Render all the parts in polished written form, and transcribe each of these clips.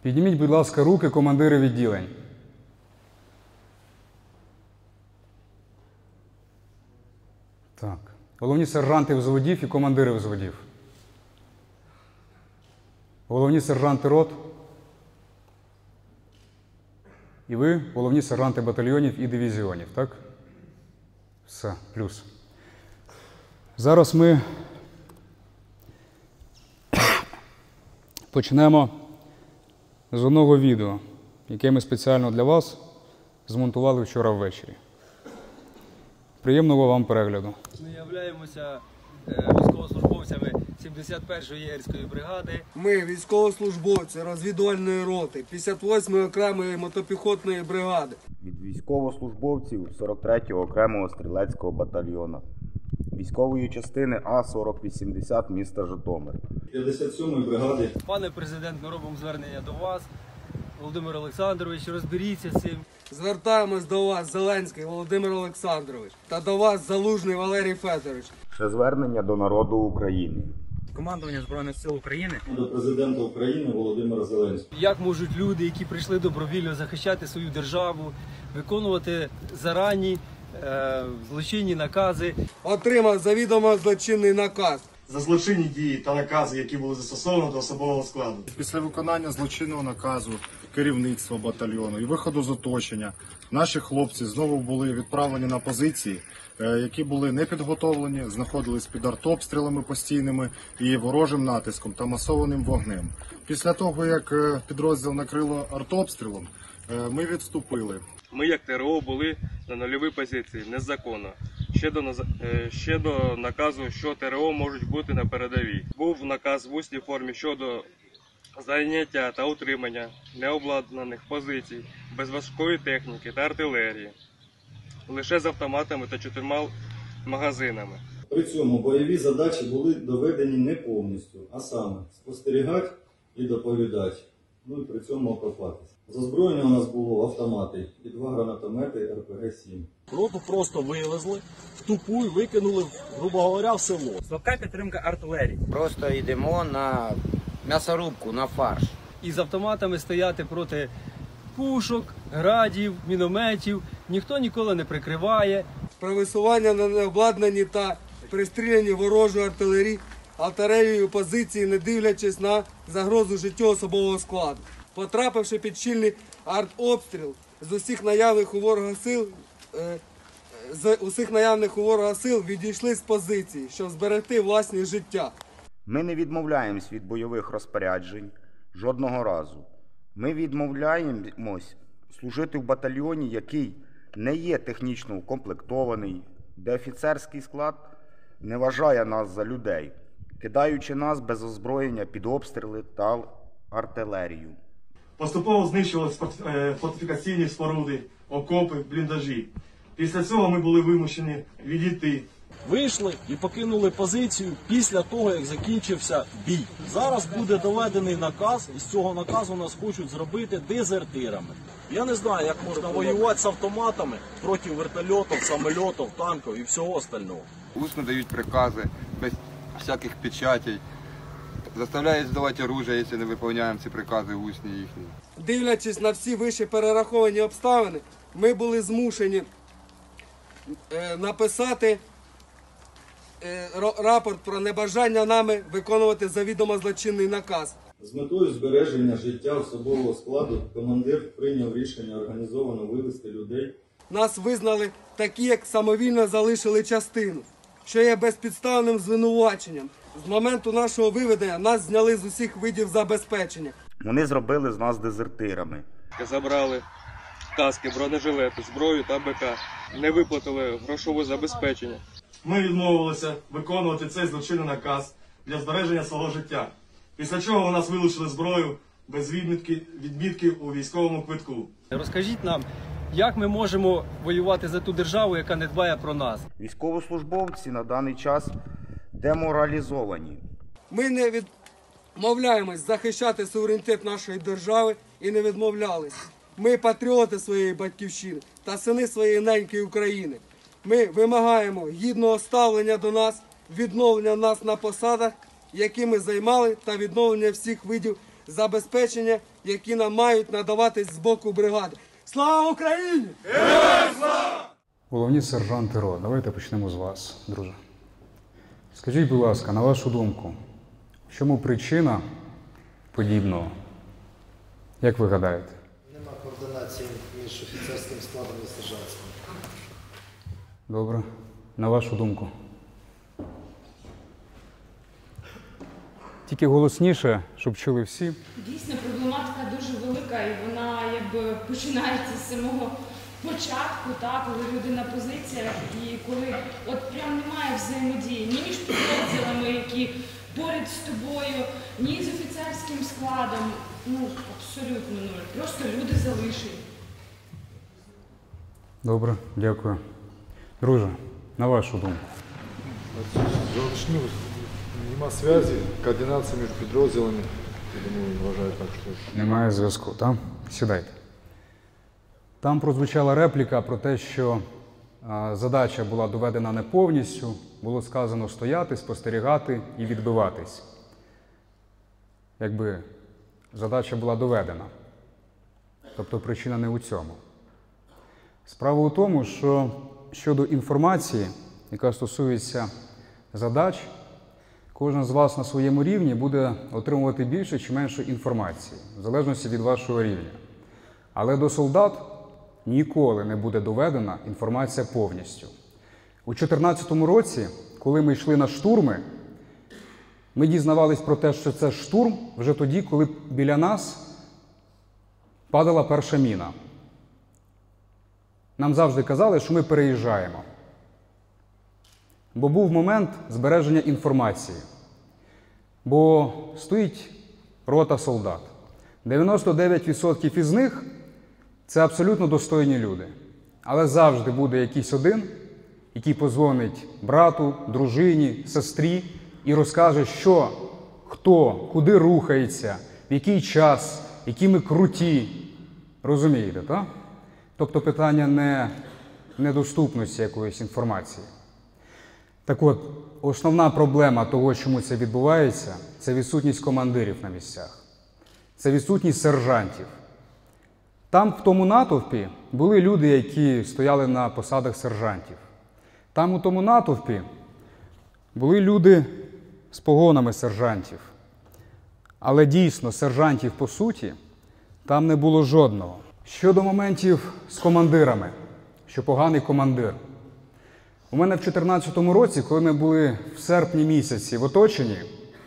Підніміть, будь ласка, руки командири відділень. Так. Головні сержанти взводів і командири взводів. Головні сержанти рот. І ви головні сержанти батальйонів і дивізіонів, так? Все, плюс. Зараз ми почнемо з одного відео, яке ми спеціально для вас змонтували вчора ввечері. Приємного вам перегляду. Ми являємося військовослужбовцями 71-ї єгерської бригади. Ми військовослужбовці розвідувальної роти 58-ї окремої мотопіхотної бригади. Від військовослужбовців 43-го окремого стрілецького батальйону. Військової частини А-4080 міста Житомир. 57-ї бригади. Пане президент, ми робимо звернення до вас. Володимир Олександрович, розберіться з цим. Звертаємось до вас, Зеленський Володимир Олександрович, та до вас, Залужний Валерій Федорович. Ще звернення до народу України. Командування Збройних сил України. До президента України Володимира Зеленського. Як можуть люди, які прийшли добровільно захищати свою державу, виконувати зарані злочинні накази? Отримав завідомо злочинний наказ. За злочинні дії та накази, які були застосовані до особового складу. Після виконання злочинного наказу керівництва батальйону і виходу з оточення наші хлопці знову були відправлені на позиції, які були не підготовлені, знаходились під артобстрілами постійними і ворожим натиском та масованим вогнем. Після того, як підрозділ накрило артобстрілом, ми відступили. Ми, як ТРО, були на нульовій позиції, незаконно. Ще до наказу, що ТРО можуть бути на передовій. Був наказ в усній формі щодо зайняття та утримання необладнаних позицій, без важкої техніки та артилерії, лише з автоматами та 4 магазинами. При цьому бойові задачі були доведені не повністю, а саме спостерігати і доповідати, ну і при цьому окопатися. З озброєння у нас було автомати і 2 гранатомети РПГ-7. Роту просто вивезли, в тупу і викинули, грубо говоря, в село. Слабка підтримка артилерії. Просто йдемо на м'ясорубку, на фарш. І з автоматами стояти проти пушок, градів, мінометів. Ніхто ніколи не прикриває. При висуванні на необладнані та пристріляні ворожої артилерією позиції, не дивлячись на загрозу життю особового складу. Потрапивши під щільний артобстріл з усіх наявних у ворога сил, відійшли з позиції, щоб зберегти власні життя. Ми не відмовляємось від бойових розпоряджень жодного разу. Ми відмовляємось служити в батальйоні, який не є технічно укомплектований, де офіцерський склад не вважає нас за людей, кидаючи нас без озброєння під обстріли та артилерію. Поступово знищувалися фортифікаційні споруди, окопи, бліндажі. Після цього ми були вимушені відійти. Вийшли і покинули позицію після того, як закінчився бій. Зараз буде доведений наказ, і з цього наказу нас хочуть зробити дезертирами. Я не знаю, як можна воювати з автоматами проти вертольотів, самольотів, танків і всього остального. Усно дають прикази, без всяких печатей. Заставляють здавати оружие, якщо не виконуємо ці прикази усні їхні. Дивлячись на всі вище перераховані обставини, ми були змушені написати рапорт про небажання нами виконувати завідомо злочинний наказ. З метою збереження життя особового складу командир прийняв рішення організовано вивезти людей. Нас визнали такі, як самовільно залишили частину, що є безпідставним звинуваченням. З моменту нашого виведення нас зняли з усіх видів забезпечення. Вони зробили з нас дезертирами. Забрали каски, бронежилети, зброю та БК. Не виплатили грошове забезпечення. Ми відмовилися виконувати цей злочинний наказ для збереження свого життя. Після чого у нас вилучили зброю без відмітки у військовому квитку. Розкажіть нам, як ми можемо воювати за ту державу, яка не дбає про нас? Військовослужбовці на даний час деморалізовані. Ми не відмовляємось захищати суверенітет нашої держави і не відмовлялись. Ми патріоти своєї батьківщини та сини своєї неньки України. Ми вимагаємо гідного ставлення до нас, відновлення нас на посадах, які ми займали, та відновлення всіх видів забезпечення які нам мають надаватись з боку бригади. Слава Україні! Головні сержанти РО, давайте почнемо з вас, друже. Скажіть, будь ласка, на вашу думку, в чому причина подібного? Як ви гадаєте? Нема координації між офіцерським складом і сержантським. Добре. На вашу думку? Тільки голосніше, щоб чули всі. Дійсно, проблематика дуже велика, і вона якби починається з самого початку, так, коли люди на позиціях, і коли от прям немає взаємодії ні між підрозділами, які поряд з тобою, ні з офіцерським складом. Ну, абсолютно нуль. Просто люди залишені. Добре, дякую. Друже, на вашу думку? Залишню, нема зв'язі, координації між підрозділами, я думаю, вважаю так, що... Немає зв'язку, так? Сідайте. Там прозвучала репліка про те, що задача була доведена не повністю, було сказано стояти, спостерігати і відбиватись. Якби задача була доведена. Тобто причина не у цьому. Справа у тому, що щодо інформації, яка стосується задач, кожен з вас на своєму рівні буде отримувати більше чи менше інформації, в залежності від вашого рівня. Але до солдат ніколи не буде доведена інформація повністю. У 2014 році, коли ми йшли на штурми, ми дізнавались про те, що це штурм вже тоді, коли біля нас падала перша міна. Нам завжди казали, що ми переїжджаємо. Бо був момент збереження інформації. Бо стоїть рота солдат. 99% із них – це абсолютно достойні люди. Але завжди буде якийсь один, який подзвонить брату, дружині, сестрі і розкаже, що, хто, куди рухається, в який час, які ми круті. Розумієте, так? Тобто питання не недоступності якоїсь інформації. Так от, основна проблема того, чому це відбувається, це відсутність командирів на місцях. Це відсутність сержантів. Там, в тому натовпі, були люди, які стояли на посадах сержантів. Там, у тому натовпі, були люди з погонами сержантів. Але дійсно, сержантів по суті, там не було жодного. Щодо моментів з командирами, що поганий командир. У мене в 2014 році, коли ми були в серпні місяці в оточенні,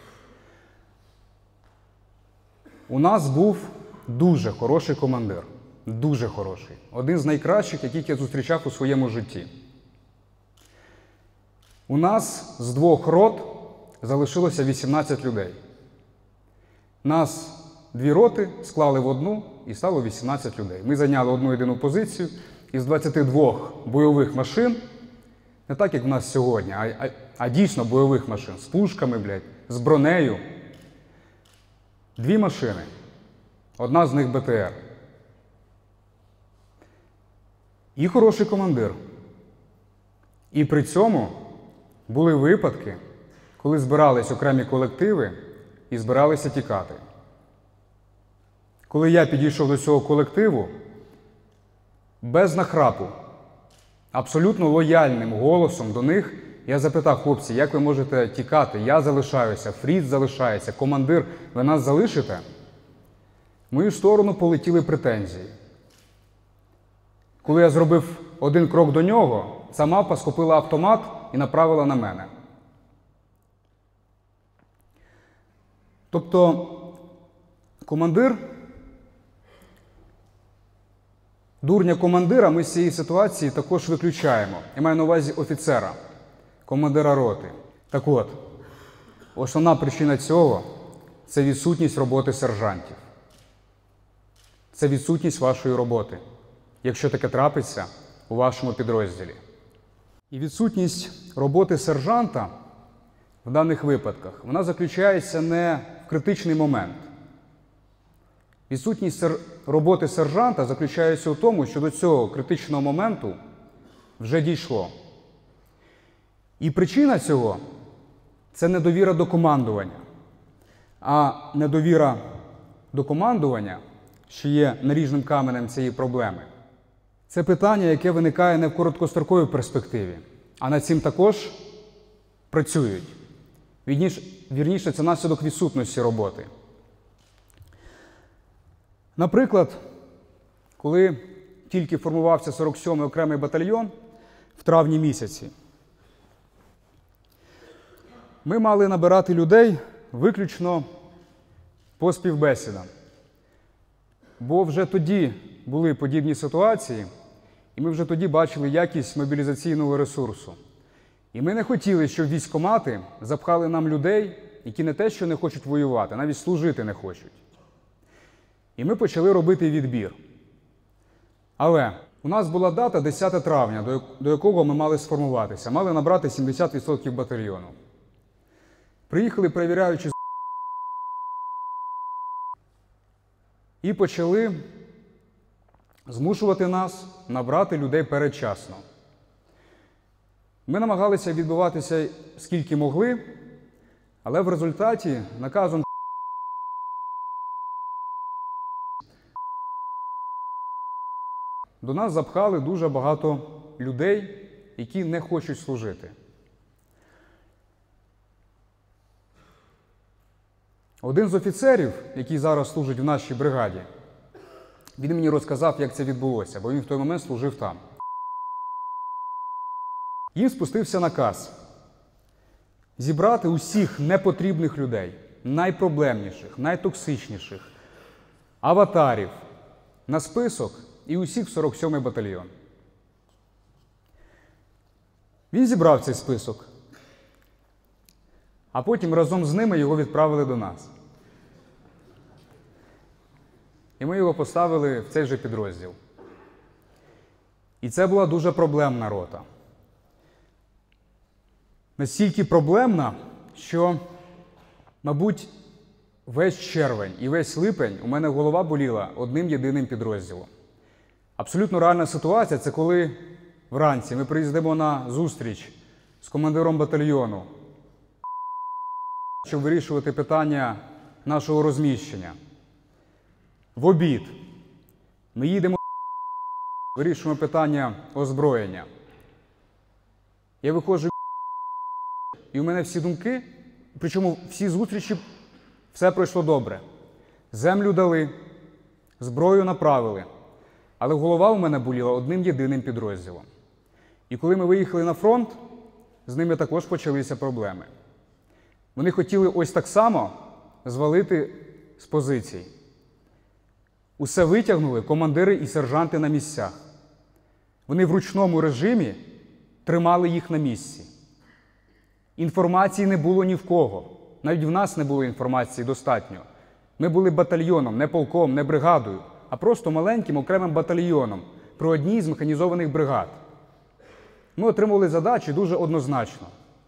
у нас був дуже хороший командир. Дуже хороший. Один з найкращих, яких я зустрічав у своєму житті. У нас з 2 рот залишилося 18 людей. Нас 2 роти склали в одну і стало 18 людей. Ми зайняли одну єдину позицію із 22 бойових машин, не так, як в нас сьогодні, а дійсно бойових машин, з пушками, з бронею. 2 машини. Одна з них БТР. І хороший командир. І при цьому були випадки, коли збирались окремі колективи і збиралися тікати. Коли я підійшов до цього колективу, без нахрапу, абсолютно лояльним голосом до них, я запитав: хлопці, як ви можете тікати? Я залишаюся, Фріц залишається, командир, ви нас залишите? В мою сторону полетіли претензії. Коли я зробив один крок до нього, ця мавпа схопила автомат і направила на мене. Тобто, командир, дурня командира ми з цієї ситуації також виключаємо. Я маю на увазі офіцера, командира роти. Так от, основна причина цього – це відсутність роботи сержантів. Це відсутність вашої роботи, якщо таке трапиться у вашому підрозділі. І відсутність роботи сержанта в даних випадках, вона заключається не в критичний момент. Відсутність роботи сержанта заключається у тому, що до цього критичного моменту вже дійшло. І причина цього – це недовіра до командування. А недовіра до командування – що є наріжним каменем цієї проблеми. Це питання, яке виникає не в короткостроковій перспективі, а над цим також працюють. Вірніше, це наслідок відсутності роботи. Наприклад, коли тільки формувався 47-й окремий батальйон в травні місяці, ми мали набирати людей виключно по співбесідам. Бо вже тоді були подібні ситуації, і ми вже тоді бачили якість мобілізаційного ресурсу. І ми не хотіли, щоб військкомати запхали нам людей, які не те, що не хочуть воювати, навіть служити не хочуть. І ми почали робити відбір. Але у нас була дата 10 травня, до якого ми мали сформуватися. Мали набрати 70% батальйону. Приїхали перевіряючи і почали змушувати нас набрати людей передчасно. Ми намагалися відбуватися скільки могли, але в результаті наказом до нас запхали дуже багато людей, які не хочуть служити. Один з офіцерів, який зараз служить в нашій бригаді, він мені розказав, як це відбулося, бо він в той момент служив там. Їм спустився наказ зібрати усіх непотрібних людей, найпроблемніших, найтоксичніших, аватарів на список і усіх в 47-й батальйон. Він зібрав цей список, а потім разом з ними його відправили до нас. І ми його поставили в цей же підрозділ. І це була дуже проблемна рота. Настільки проблемна, що, мабуть, весь червень і весь липень у мене голова боліла одним єдиним підрозділом. Абсолютно реальна ситуація – це коли вранці ми приїздимо на зустріч з командиром батальйону, щоб вирішувати питання нашого розміщення. В обід ми їдемо, вирішуємо питання озброєння. Я виходжу, і у мене всі думки, причому всі зустрічі, все пройшло добре. Землю дали, зброю направили, але голова у мене боліла одним єдиним підрозділом. І коли ми виїхали на фронт, з ними також почалися проблеми. Вони хотіли ось так само звалити з позицій. Усе витягнули командири і сержанти на місцях. Вони в ручному режимі тримали їх на місці. Інформації не було ні в кого. Навіть в нас не було інформації достатньо. Ми були батальйоном, не полком, не бригадою, а просто маленьким окремим батальйоном при одній з механізованих бригад. Ми отримували задачі дуже однозначно,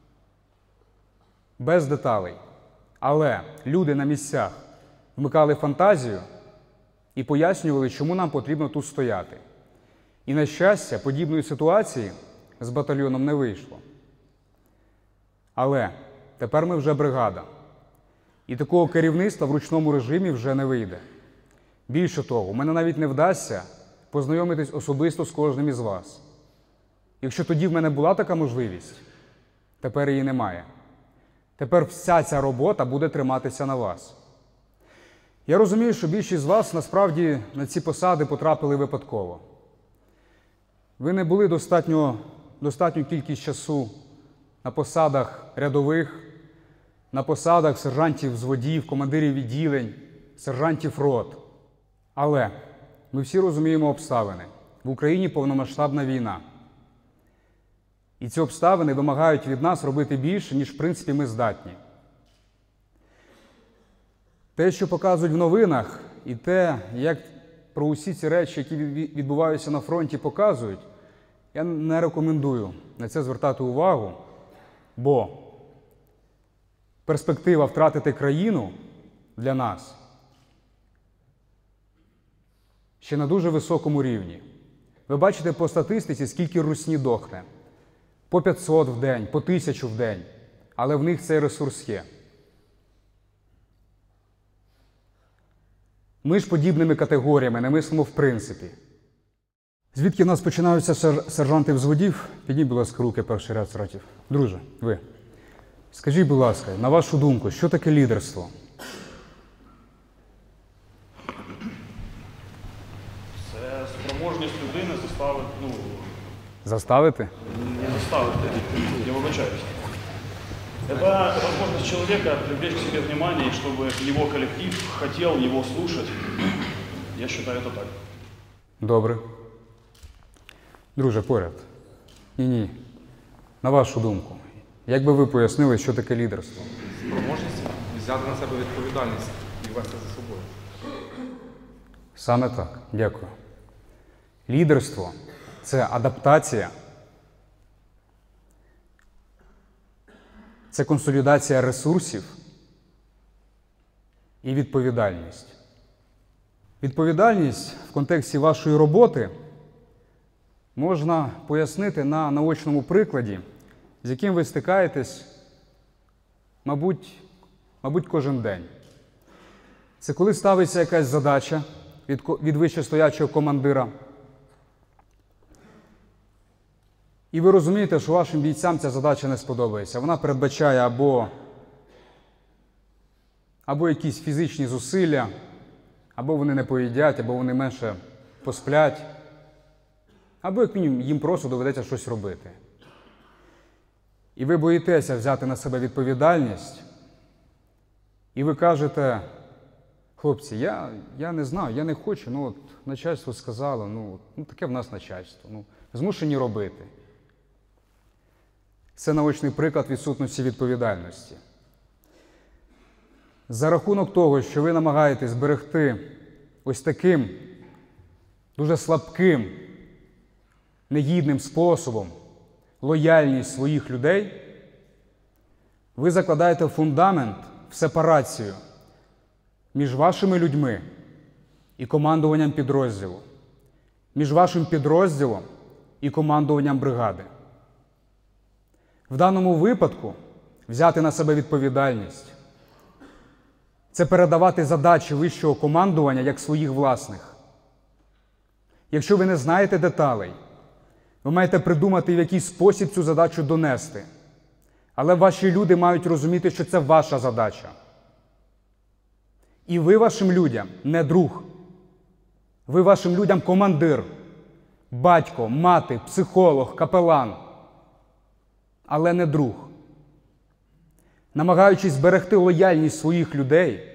без деталей. Але люди на місцях вмикали фантазію і пояснювали, чому нам потрібно тут стояти. І, на щастя, подібної ситуації з батальйоном не вийшло. Але тепер ми вже бригада. І такого керівництва в ручному режимі вже не вийде. Більше того, у мене навіть не вдасться познайомитись особисто з кожним із вас. Якщо тоді в мене була така можливість, тепер її немає. Тепер вся ця робота буде триматися на вас. Я розумію, що більшість з вас насправді на ці посади потрапили випадково. Ви не були достатню кількість часу на посадах рядових, на посадах сержантів взводів, командирів відділень, сержантів рот. Але ми всі розуміємо обставини. В Україні повномасштабна війна. І ці обставини вимагають від нас робити більше, ніж в принципі ми здатні. Те, що показують в новинах, і те, як про усі ці речі, які відбуваються на фронті, показують, я не рекомендую на це звертати увагу, бо перспектива втратити країну для нас ще на дуже високому рівні. Ви бачите по статистиці, скільки русні дохне. По 500 в день, по 1000 в день. Але в них цей ресурс є. Ми ж подібними категоріями не мислимо в принципі. Звідки в нас починаються сержанти взводів? Підніть, будь ласка, руки, перший ряд сержантів. Друже, ви. Скажіть, будь ласка, на вашу думку, що таке лідерство? Це спроможність людини заставити, Заставити? не заставити, я вибачаюсь. Это возможность человека привлечь к себе внимание, и чтобы его коллектив хотел его слушать. Я считаю это так. Добре. Друже, поряд. Ні. На вашу думку, як би ви пояснили, що таке лідерство? Спроможність взяти на себе відповідальність і вести за собою. Саме так. Дякую. Лідерство – це адаптація, це консолідація ресурсів і відповідальність. Відповідальність в контексті вашої роботи можна пояснити на наочному прикладі, з яким ви стикаєтесь, мабуть, кожен день. Це коли ставиться якась задача від вищестоячого командира, і ви розумієте, що вашим бійцям ця задача не сподобається. Вона передбачає або якісь фізичні зусилля, або вони не поїдять, або вони менше посплять, або, як мінімум, їм просто доведеться щось робити. І ви боїтеся взяти на себе відповідальність, і ви кажете: хлопці, я не знаю, я не хочу, от начальство сказало, таке в нас начальство, змушені робити. Це наочний приклад відсутності відповідальності. За рахунок того, що ви намагаєтесь зберегти ось таким дуже слабким, негідним способом лояльність своїх людей, ви закладаєте фундамент в сепарацію між вашими людьми і командуванням підрозділу, між вашим підрозділом і командуванням бригади. В даному випадку взяти на себе відповідальність – це передавати задачі вищого командування як своїх власних. Якщо ви не знаєте деталей, ви маєте придумати, в який спосіб цю задачу донести. Але ваші люди мають розуміти, що це ваша задача. І ви вашим людям не друг. Ви вашим людям командир, батько, мати, психолог, капелан. Але не друг. Намагаючись зберегти лояльність своїх людей,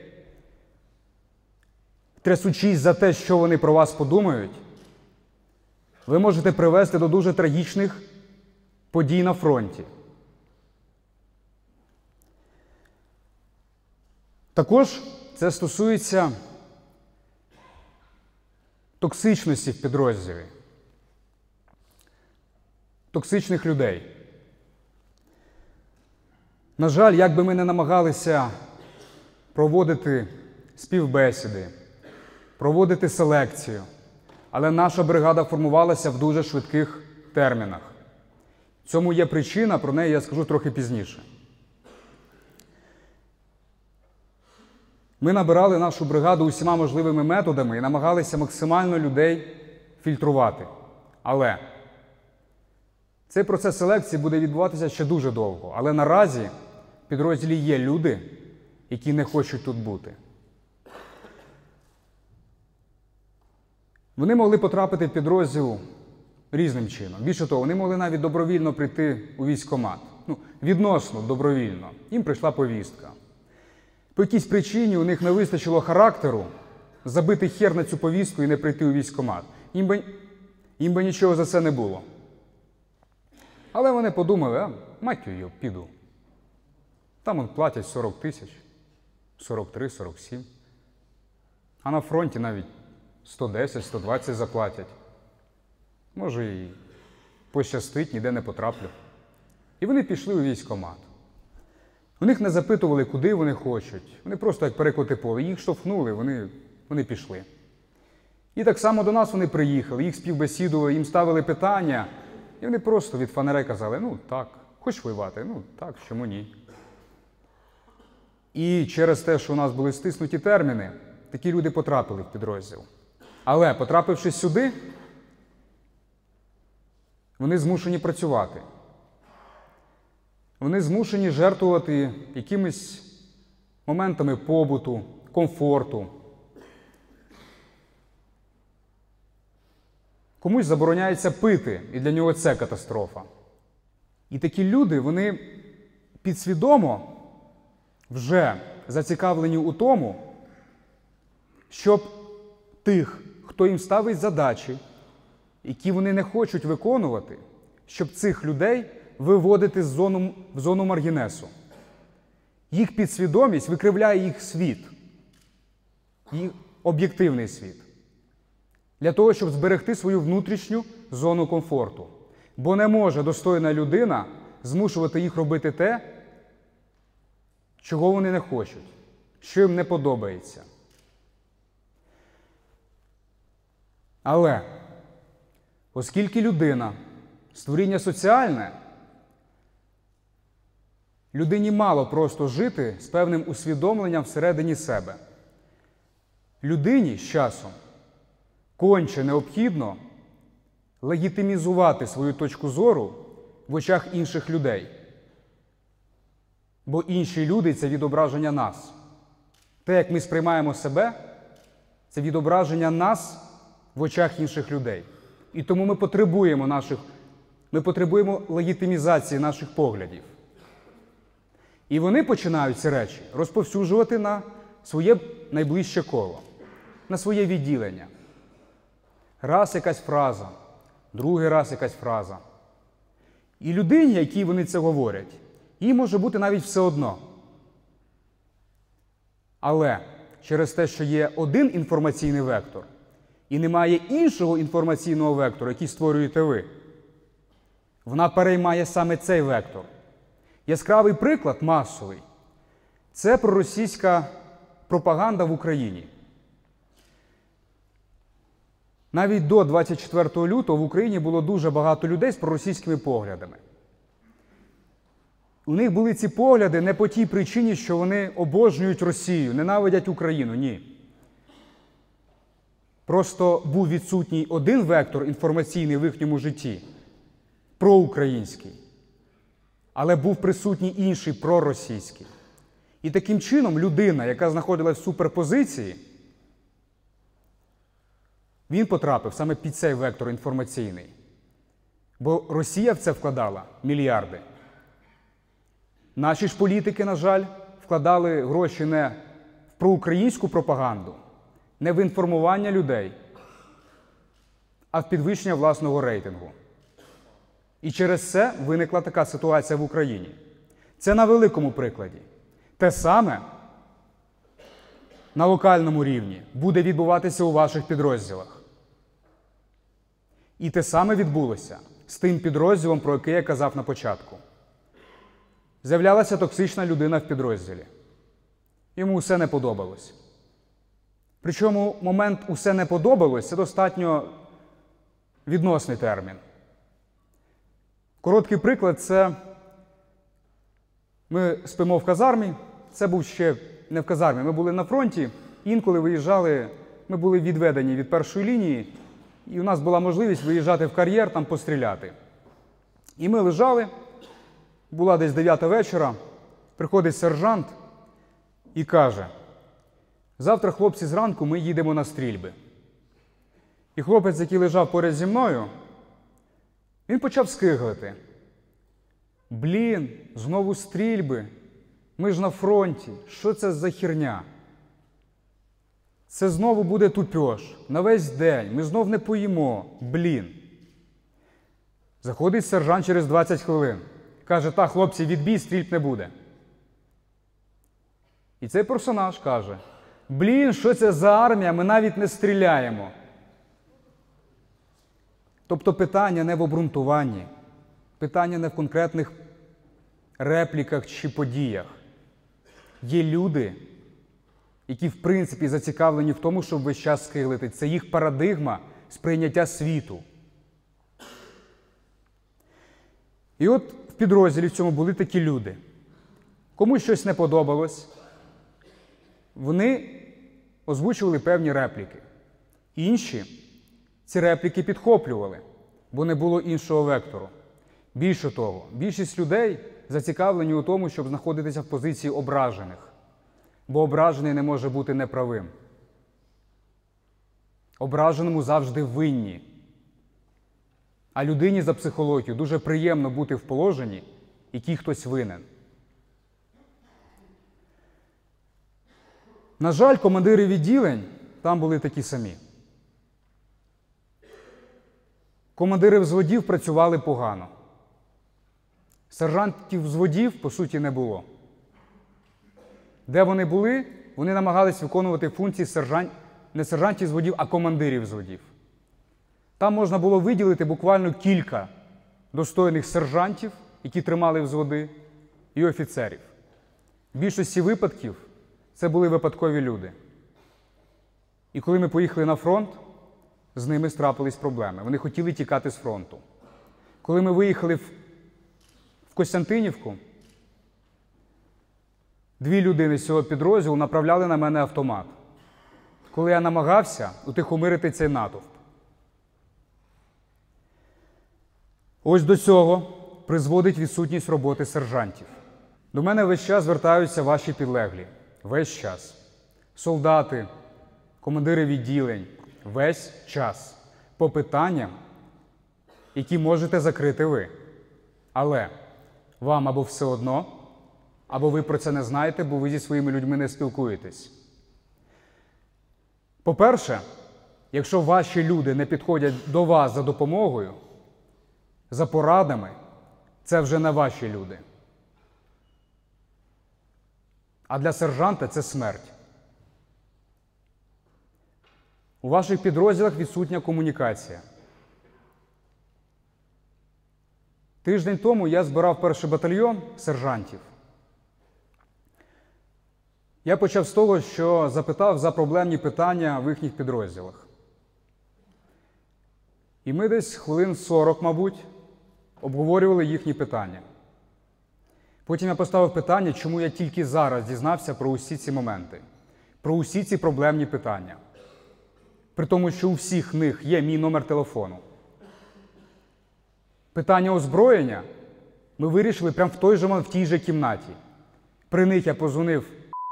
трясучись за те, що вони про вас подумають, ви можете привести до дуже трагічних подій на фронті. Також це стосується токсичності в підрозділі, токсичних людей. На жаль, як би ми не намагалися проводити співбесіди, проводити селекцію, але наша бригада формувалася в дуже швидких термінах. Цьому є причина, про неї я скажу трохи пізніше. Ми набирали нашу бригаду усіма можливими методами і намагалися максимально людей фільтрувати. Але цей процес селекції буде відбуватися ще дуже довго. Але наразі в підрозділі є люди, які не хочуть тут бути. Вони могли потрапити в підрозділ різним чином. Більше того, вони могли навіть добровільно прийти у військкомат. Відносно добровільно. Їм прийшла повістка. По якійсь причині у них не вистачило характеру забити хер на цю повістку і не прийти у військкомат. Їм би нічого за це не було. Але вони подумали: мать її, піду. Там платять 40 тисяч, 43, 47. А на фронті навіть 110, 120 заплатять. Може і пощастить, ніде не потраплю. І вони пішли у військкомат. У них не запитували, куди вони хочуть. Вони просто як перекоти поле. Їх штовхнули, вони пішли. І так само до нас вони приїхали, їх співбесідували, їм ставили питання. І вони просто від фонарей казали: так, хочеш воювати? Так, чому ні? І через те, що у нас були стиснуті терміни, такі люди потрапили в підрозділ. Але, потрапивши сюди, вони змушені працювати. Вони змушені жертвувати якимись моментами побуту, комфорту. Комусь забороняється пити, і для нього це катастрофа. І такі люди, вони підсвідомо вже зацікавлені у тому, щоб тих, хто їм ставить задачі, які вони не хочуть виконувати, щоб цих людей виводити в зону маргінесу. Їх підсвідомість викривляє їх світ, їх об'єктивний світ, для того, щоб зберегти свою внутрішню зону комфорту. Бо не може достойна людина змушувати їх робити те, чого вони не хочуть, що їм не подобається. Але, оскільки людина – створіння соціальне, людині мало просто жити з певним усвідомленням всередині себе. Людині з часом конче необхідно легітимізувати свою точку зору в очах інших людей. Бо інші люди – це відображення нас. Те, як ми сприймаємо себе, це відображення нас в очах інших людей. І тому ми потребуємо легітимізації наших поглядів. І вони починають ці речі розповсюджувати на своє найближче коло, на своє відділення. Раз якась фраза, другий раз якась фраза. І людині, якій вони це говорять, їй може бути навіть все одно. Але через те, що є один інформаційний вектор, і немає іншого інформаційного вектору, який створюєте ви, вона переймає саме цей вектор. Яскравий приклад, масовий, це проросійська пропаганда в Україні. Навіть до 24 лютого в Україні було дуже багато людей з проросійськими поглядами. У них були ці погляди не по тій причині, що вони обожнюють Росію, ненавидять Україну, ні. Просто був відсутній один вектор інформаційний в їхньому житті – проукраїнський. Але був присутній інший проросійський. І таким чином людина, яка знаходилась в суперпозиції, він потрапив саме під цей вектор інформаційний. Бо Росія в це вкладала мільярди. Наші ж політики, на жаль, вкладали гроші не в проукраїнську пропаганду, не в інформування людей, а в підвищення власного рейтингу. І через це виникла така ситуація в Україні. Це на великому прикладі. Те саме на локальному рівні буде відбуватися у ваших підрозділах. І те саме відбулося з тим підрозділом, про який я казав на початку. З'являлася токсична людина в підрозділі. Йому все не подобалось. Причому момент «усе не подобалось» – це достатньо відносний термін. Короткий приклад – це ми спимо в казармі, це був ще не в казармі, ми були на фронті, інколи виїжджали, ми були відведені від першої лінії, і у нас була можливість виїжджати в кар'єр, там постріляти. І ми лежали, була десь 9 вечора, приходить сержант і каже: завтра, хлопці, зранку ми їдемо на стрільби. І хлопець, який лежав поряд зі мною, він почав скиглити. Блін, знову стрільби, ми ж на фронті, що це за херня? Це знову буде тупьош, на весь день, ми знов не поїмо, блін. Заходить сержант через 20 хвилин, каже: та, хлопці, відбій, стрільб не буде. І цей персонаж каже: блін, що це за армія, ми навіть не стріляємо. Тобто питання не в обґрунтуванні, питання не в конкретних репліках чи подіях. Є люди, які в принципі зацікавлені в тому, щоб весь час скиглити. Це їх парадигма сприйняття світу. І от в підрозділі в цьому були такі люди. Комусь щось не подобалось, вони озвучували певні репліки. Інші ці репліки підхоплювали, бо не було іншого вектору. Більше того, більшість людей зацікавлені у тому, щоб знаходитися в позиції ображених, бо ображений не може бути неправим. Ображеному завжди винні. А людині за психологією дуже приємно бути в положенні, якій хтось винен. На жаль, командири відділень там були такі самі. Командири взводів працювали погано. Сержантів взводів, по суті, не було. Де вони були, вони намагались виконувати функції не сержантів взводів, а командирів взводів. Там можна було виділити буквально кілька достойних сержантів, які тримали взводи, і офіцерів. В більшості випадків це були випадкові люди. І коли ми поїхали на фронт, з ними трапились проблеми. Вони хотіли тікати з фронту. Коли ми виїхали в Костянтинівку, 2 людини з цього підрозділу направляли на мене автомат, коли я намагався утихомирити цей натовп. Ось до цього призводить відсутність роботи сержантів. До мене весь час звертаються ваші підлеглі. Весь час. Солдати, командири відділень. Весь час. По питанням, які можете закрити ви. Але вам або все одно, або ви про це не знаєте, бо ви зі своїми людьми не спілкуєтесь. По-перше, якщо ваші люди не підходять до вас за допомогою, за порадами, це вже не ваші люди. А для сержанта це смерть. У ваших підрозділах відсутня комунікація. Тиждень тому я збирав перший батальйон сержантів. Я почав з того, що запитав за проблемні питання в їхніх підрозділах. І ми десь хвилин 40, мабуть, обговорювали їхні питання. Потім я поставив питання, чому я тільки зараз дізнався про усі ці моменти, про усі ці проблемні питання. При тому, що у всіх них є мій номер телефону. Питання озброєння ми вирішили прямо в той же момент, в тій же кімнаті. При них я позвонив,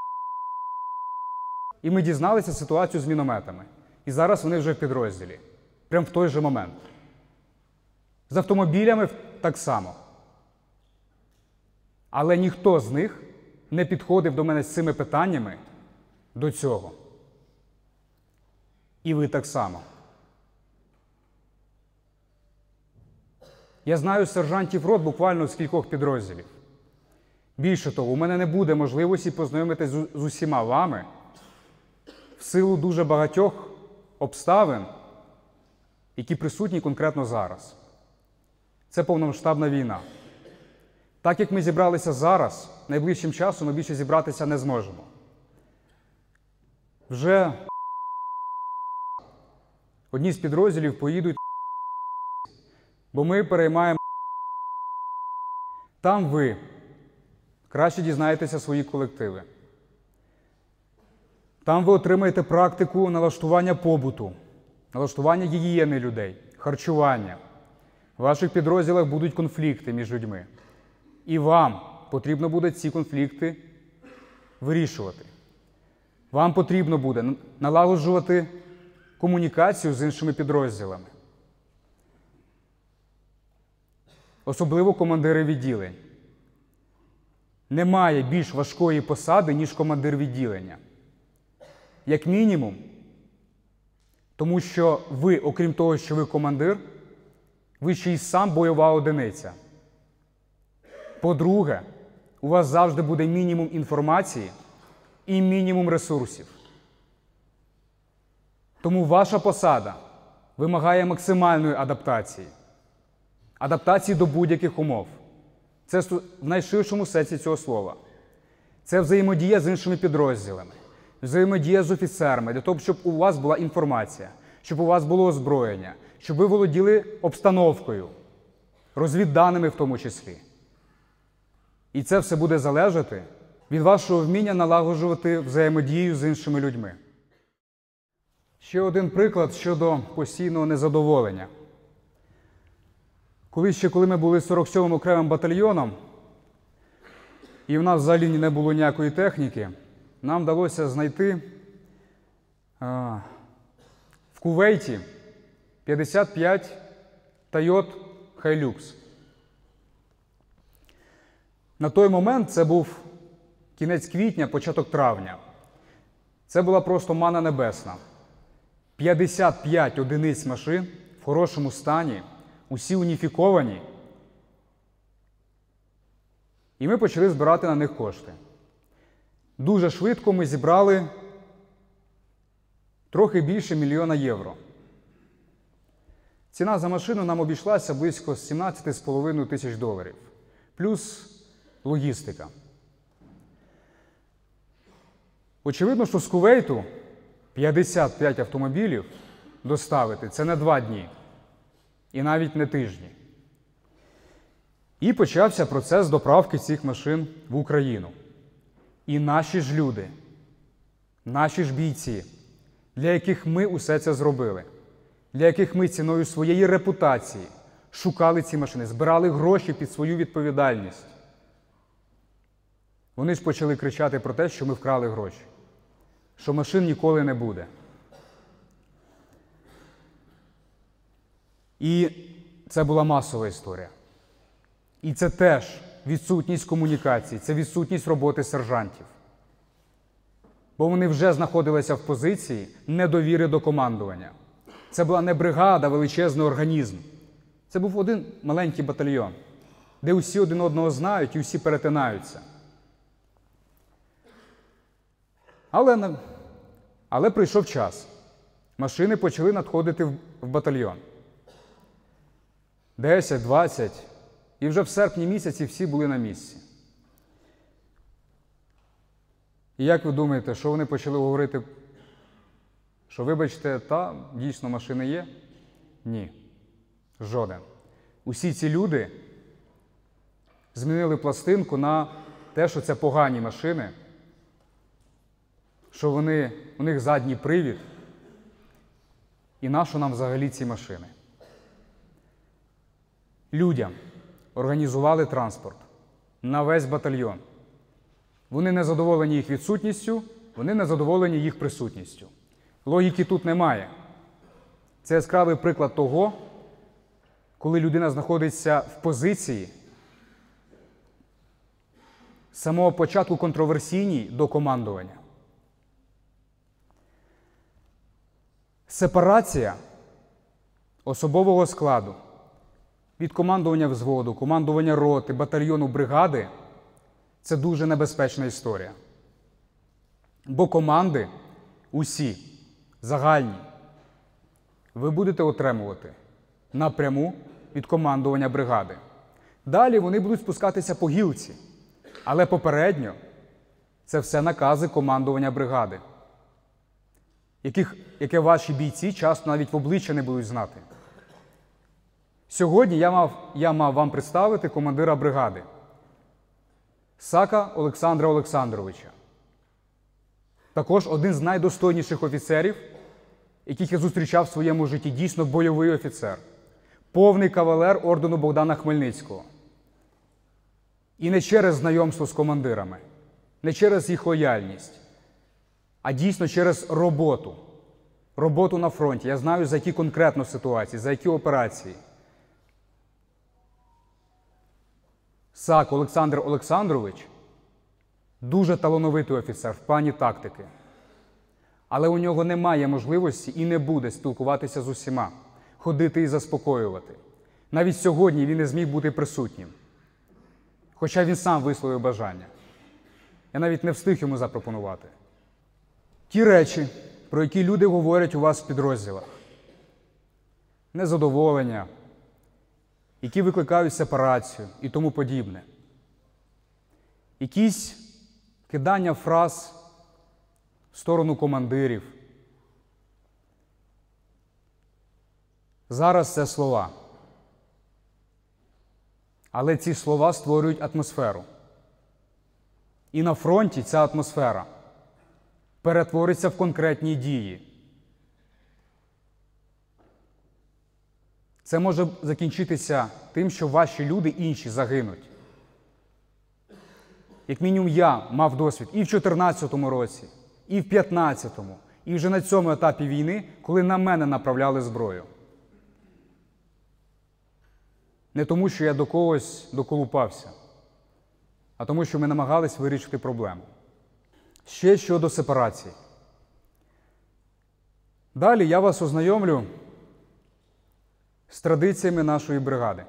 і ми дізналися ситуацію з мінометами. І зараз вони вже в підрозділі. Прямо в той же момент. З автомобілями так само. Але ніхто з них не підходив до мене з цими питаннями до цього. І ви так само. Я знаю сержантів рот буквально з кількох підрозділів. Більше того, у мене не буде можливості познайомитись з усіма вами в силу дуже багатьох обставин, які присутні конкретно зараз. Це повномасштабна війна. Так як ми зібралися зараз, найближчим часом ми більше зібратися не зможемо. Вже одні з підрозділів поїдуть, бо ми переймаємо. Там ви краще дізнаєтеся свої колективи. Там ви отримаєте практику налаштування побуту, налаштування гігієни людей, харчування. В ваших підрозділах будуть конфлікти між людьми. І вам потрібно буде ці конфлікти вирішувати. Вам потрібно буде налагоджувати комунікацію з іншими підрозділами. Особливо командири відділень. Немає більш важкої посади, ніж командир відділення. Як мінімум, тому що ви, окрім того, що ви командир, ви ще й сам бойова одиниця. По-друге, у вас завжди буде мінімум інформації і мінімум ресурсів. Тому ваша посада вимагає максимальної адаптації. Адаптації до будь-яких умов. Це в найширшому сенсі цього слова. Це взаємодія з іншими підрозділами, взаємодія з офіцерами, для того, щоб у вас була інформація, щоб у вас було озброєння, щоб ви володіли обстановкою, розвідданими в тому числі. І це все буде залежати від вашого вміння налагоджувати взаємодію з іншими людьми. Ще один приклад щодо постійного незадоволення. Коли ми були 47-м окремим батальйоном, і в нас взагалі не було ніякої техніки, нам вдалося знайти в Кувейті 55 Toyota Hilux. На той момент, це був кінець квітня, початок травня, це була просто мана небесна. 55 одиниць машин в хорошому стані, усі уніфіковані. І ми почали збирати на них кошти. Дуже швидко ми зібрали трохи більше 1 мільйона євро. Ціна за машину нам обійшлася близько $17,5 тисяч. Плюс логістика. Очевидно, що з Кувейту 55 автомобілів доставити – це не 2 дні. І навіть не тижні. І почався процес доправки цих машин в Україну. І наші ж люди, наші ж бійці, для яких ми усе це зробили, для яких ми ціною своєї репутації шукали ці машини, збирали гроші під свою відповідальність. Вони ж почали кричати про те, що ми вкрали гроші, що машин ніколи не буде. І це була масова історія. І це теж відсутність комунікації, це відсутність роботи сержантів. Бо вони вже знаходилися в позиції недовіри до командування. Це була не бригада, а величезний організм. Це був один маленький батальйон, де усі один одного знають і усі перетинаються. Але прийшов час. Машини почали надходити в батальйон. 10, 20, і вже в серпні місяці всі були на місці. І як ви думаєте, що вони почали говорити? Що, вибачте, дійсно машини є? Ні. Жоден. Усі ці люди змінили пластинку на те, що це погані машини, що у них задній привід, і нащо нам взагалі ці машини? Людям організували транспорт на весь батальйон. Вони не задоволені їх відсутністю, вони не задоволені їх присутністю. Логіки тут немає. Це яскравий приклад того, коли людина знаходиться в позиції з самого початку контроверсійній до командування. Сепарація особового складу від командування взводу, командування роти, батальйону, бригади – це дуже небезпечна історія. Бо команди усі, загальні, ви будете отримувати напряму від командування бригади. Далі вони будуть спускатися по гілці, але попередньо це все накази командування бригади, яке ваші бійці часто навіть в обличчя не будуть знати. Сьогодні я мав вам представити командира бригади Сака Олександра Олександровича. Також один з найдостойніших офіцерів, яких я зустрічав в своєму житті, дійсно бойовий офіцер. Повний кавалер ордену Богдана Хмельницького. І не через знайомство з командирами, не через їх лояльність, а дійсно через роботу. Роботу на фронті. Я знаю, за які конкретно ситуації, за які операції. Сак Олександр Олександрович дуже талановитий офіцер в плані тактики. Але у нього немає можливості і не буде спілкуватися з усіма, ходити і заспокоювати. Навіть сьогодні він не зміг бути присутнім. Хоча він сам висловив бажання. Я навіть не встиг йому запропонувати. Ті речі, про які люди говорять у вас в підрозділах. Незадоволення, які викликають сепарацію і тому подібне. Якісь кидання фраз в сторону командирів. Зараз це слова. Але ці слова створюють атмосферу. І на фронті ця атмосфера перетвориться в конкретні дії. Це може закінчитися тим, що ваші люди інші загинуть. Як мінімум я мав досвід і в 2014 році, і в 2015, і вже на цьому етапі війни, коли на мене направляли зброю. Не тому, що я до когось доколупався, а тому, що ми намагались вирішити проблему. Ще щодо сепарації. Далі я вас ознайомлю з традиціями нашої бригади.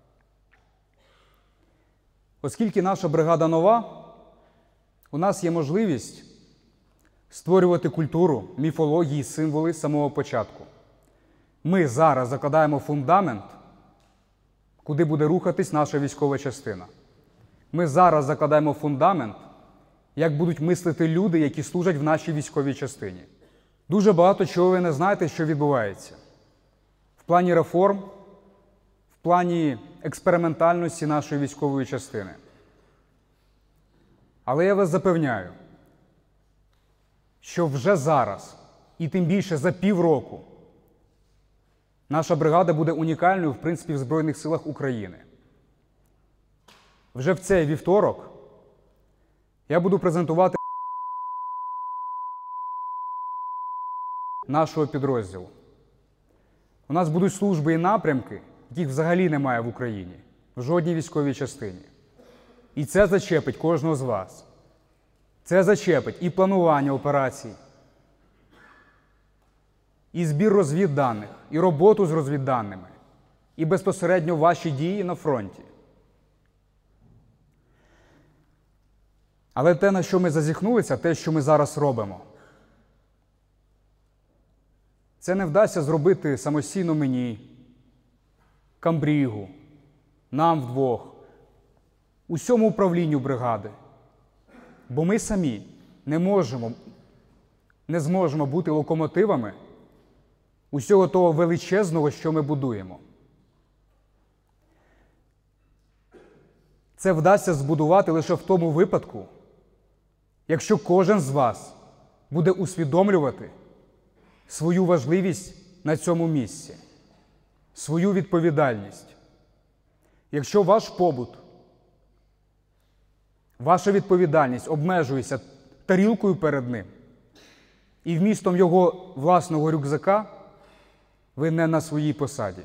Оскільки наша бригада нова, у нас є можливість створювати культуру, міфології, символи з самого початку. Ми зараз закладаємо фундамент, куди буде рухатись наша військова частина. Ми зараз закладаємо фундамент, як будуть мислити люди, які служать в нашій військовій частині. Дуже багато чого ви не знаєте, що відбувається. В плані реформ, в плані експериментальності нашої військової частини. Але я вас запевняю, що вже зараз, і тим більше за півроку, наша бригада буде унікальною, в принципі, в Збройних силах України. Вже в цей вівторок я буду презентувати нашого підрозділу. У нас будуть служби і напрямки, яких взагалі немає в Україні, в жодній військовій частині. І це зачепить кожного з вас. Це зачепить і планування операцій, і збір розвідданих, і роботу з розвідданими, і безпосередньо ваші дії на фронті. Але те, на що ми зазіхнулися, те, що ми зараз робимо, це не вдасться зробити самостійно мені, камбрігу, нам вдвох, усьому управлінню бригади. Бо ми самі не зможемо бути локомотивами усього того величезного, що ми будуємо. Це вдасться збудувати лише в тому випадку, якщо кожен з вас буде усвідомлювати свою важливість на цьому місці, свою відповідальність. Якщо ваш побут, ваша відповідальність обмежується тарілкою перед ним і вмістом його власного рюкзака, ви не на своїй посаді.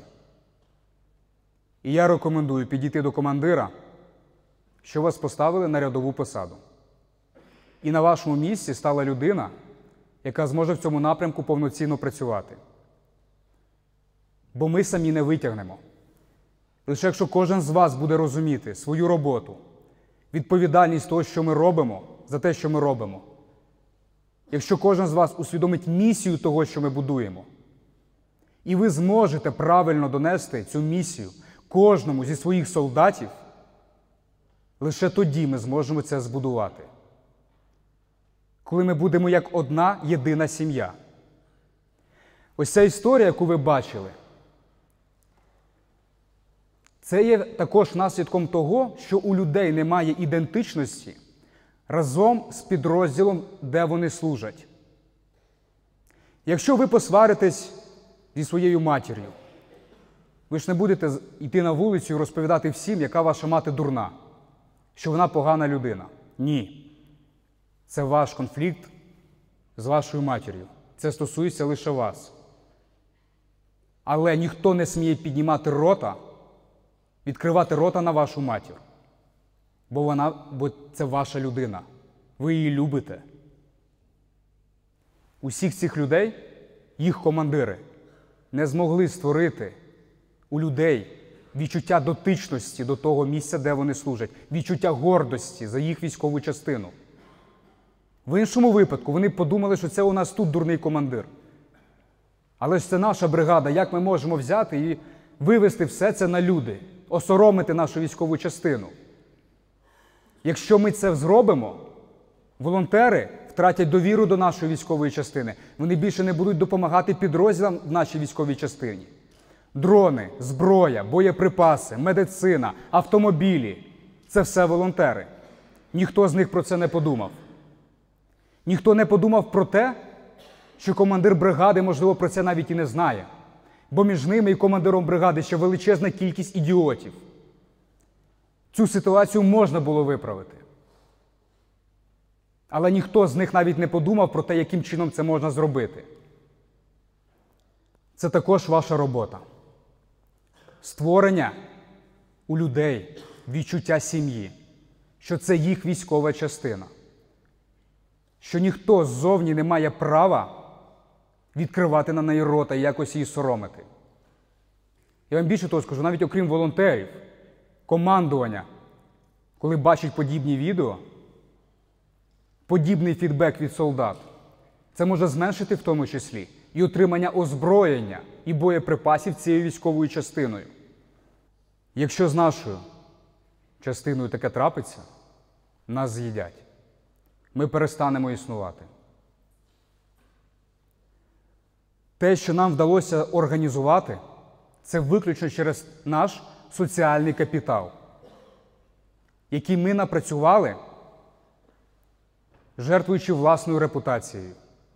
І я рекомендую підійти до командира, що вас поставили на рядову посаду. І на вашому місці стала людина, яка зможе в цьому напрямку повноцінно працювати. Бо ми самі не витягнемо. Лише якщо кожен з вас буде розуміти свою роботу, відповідальність того, що ми робимо, за те, що ми робимо. Якщо кожен з вас усвідомить місію того, що ми будуємо, і ви зможете правильно донести цю місію кожному зі своїх солдатів, лише тоді ми зможемо це збудувати. Коли ми будемо як одна єдина сім'я. Ось ця історія, яку ви бачили, це є також наслідком того, що у людей немає ідентичності разом з підрозділом, де вони служать. Якщо ви посваритесь зі своєю матір'ю, ви ж не будете йти на вулицю і розповідати всім, яка ваша мати дурна, що вона погана людина. Ні. Це ваш конфлікт з вашою матір'ю. Це стосується лише вас. Але ніхто не сміє піднімати рота, відкривати рота на вашу матір. Бо це ваша людина. Ви її любите. Усіх цих людей, їх командири, не змогли створити у людей відчуття дотичності до того місця, де вони служать, відчуття гордості за їх військову частину. В іншому випадку вони подумали, що це у нас тут дурний командир. Але ж це наша бригада, як ми можемо взяти і вивести все це на люди, осоромити нашу військову частину. Якщо ми це зробимо, волонтери втратять довіру до нашої військової частини. Вони більше не будуть допомагати підрозділам в нашій військовій частині. Дрони, зброя, боєприпаси, медицина, автомобілі – це все волонтери. Ніхто з них про це не подумав. Ніхто не подумав про те, що командир бригади, можливо, про це навіть і не знає. Бо між ними і командиром бригади ще величезна кількість ідіотів. Цю ситуацію можна було виправити. Але ніхто з них навіть не подумав про те, яким чином це можна зробити. Це також ваша робота. Створення у людей відчуття сім'ї, що це їх військова частина, що ніхто ззовні не має права відкривати на неї рота і якось її соромити. Я вам більше того скажу, навіть окрім волонтерів, командування, коли бачить подібні відео, подібний фідбек від солдат, це може зменшити в тому числі і отримання озброєння і боєприпасів цією військовою частиною. Якщо з нашою частиною таке трапиться, нас з'їдять. Ми перестанемо існувати. Те, що нам вдалося організувати, це виключно через наш соціальний капітал, який ми напрацювали, жертвуючи власною репутацією,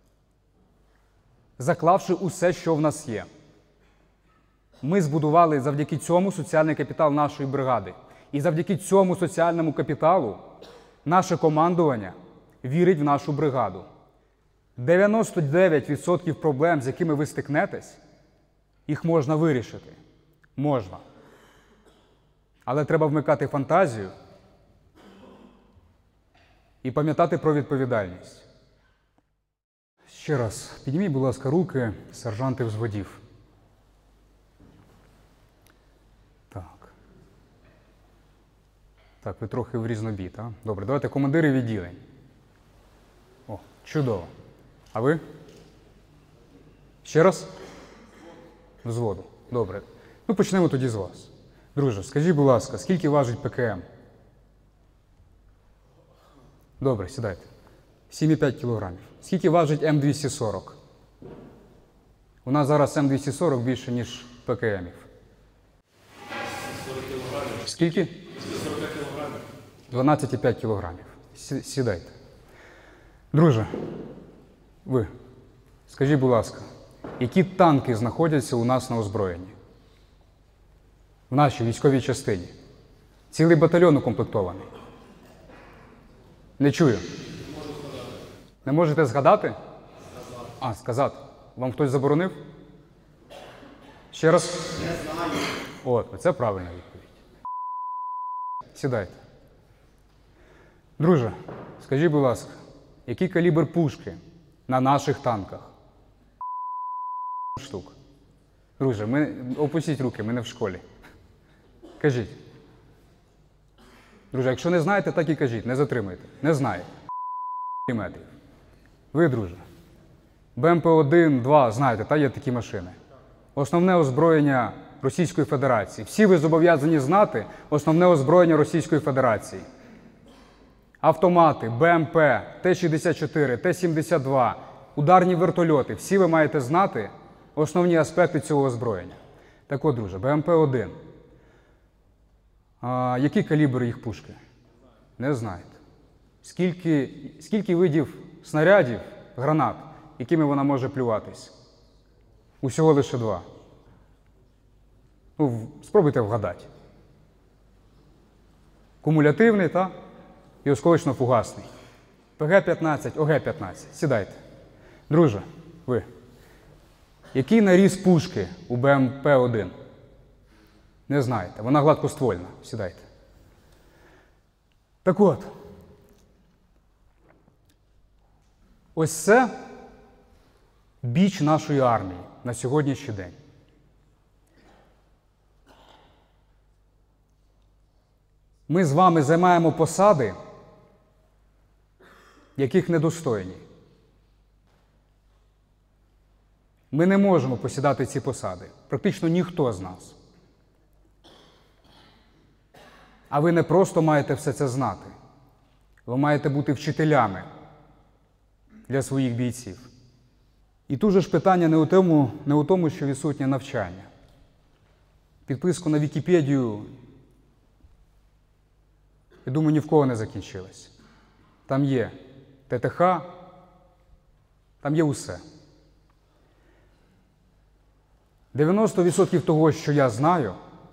заклавши усе, що в нас є. Ми збудували завдяки цьому соціальний капітал нашої бригади. І завдяки цьому соціальному капіталу наше командування вірить в нашу бригаду. 99% проблем, з якими ви стикнетесь, їх можна вирішити. Можна. Але треба вмикати фантазію і пам'ятати про відповідальність. Ще раз, підніміть, будь ласка, руки, сержанти взводів. Так. Так, ви трохи в різнобій, так? Добре, давайте командири відділень. О, чудово. А ви? Ще раз? Взводу. Добре. Ну, почнемо тоді з вас. Друже, скажіть, будь ласка, скільки важить ПКМ? Добре, сідайте. 7,5 кілограмів. Скільки важить М240? У нас зараз М240 більше, ніж ПКМів. 40 кілограмів. Скільки? 40 кілограмів. 12,5 кілограмів. Сідайте. Друже, ви, скажіть, будь ласка, які танки знаходяться у нас на озброєнні? В нашій військовій частині. Цілий батальйон укомплектований. Не чую. Не можете згадати? А, сказати. Вам хтось заборонив? Ще раз? Не знаю. От, це правильна відповідь. Сідайте. Друже, скажіть, будь ласка, який калібр пушки на наших танках? Штук. Друже, опустіть руки, ми не в школі. Кажіть. Друже, якщо не знаєте, так і кажіть, не затримуйте. Не знаєте. Метрів. Ви, друже. БМП-1, 2, знаєте, та є такі машини. Основне озброєння Російської Федерації. Всі ви зобов'язані знати основне озброєння Російської Федерації. Автомати, БМП, Т-64, Т-72, ударні вертольоти. Всі ви маєте знати основні аспекти цього озброєння. Так от, друже, БМП-1. Який калібр їх пушки? Не знаєте. Скільки видів снарядів, гранат, якими вона може плюватись? Усього лише 2. Ну, спробуйте вгадати. Кумулятивний, та? І осколочно-фугасний. ПГ-15, ОГ-15. Сідайте. Друже, ви. Який наріз пушки у БМП-1? Не знаєте. Вона гладкоствольна. Сідайте. Так от. Ось це біч нашої армії на сьогоднішній день. Ми з вами займаємо посади, яких недостойні. Ми не можемо посідати ці посади. Практично ніхто з нас. А ви не просто маєте все це знати. Ви маєте бути вчителями для своїх бійців. І тут же ж питання не у тому, що відсутнє навчання. Підписку на Вікіпедію, я думаю, ні в кого не закінчилось. Там є ТТХ, там є усе. 90% того, що я знаю,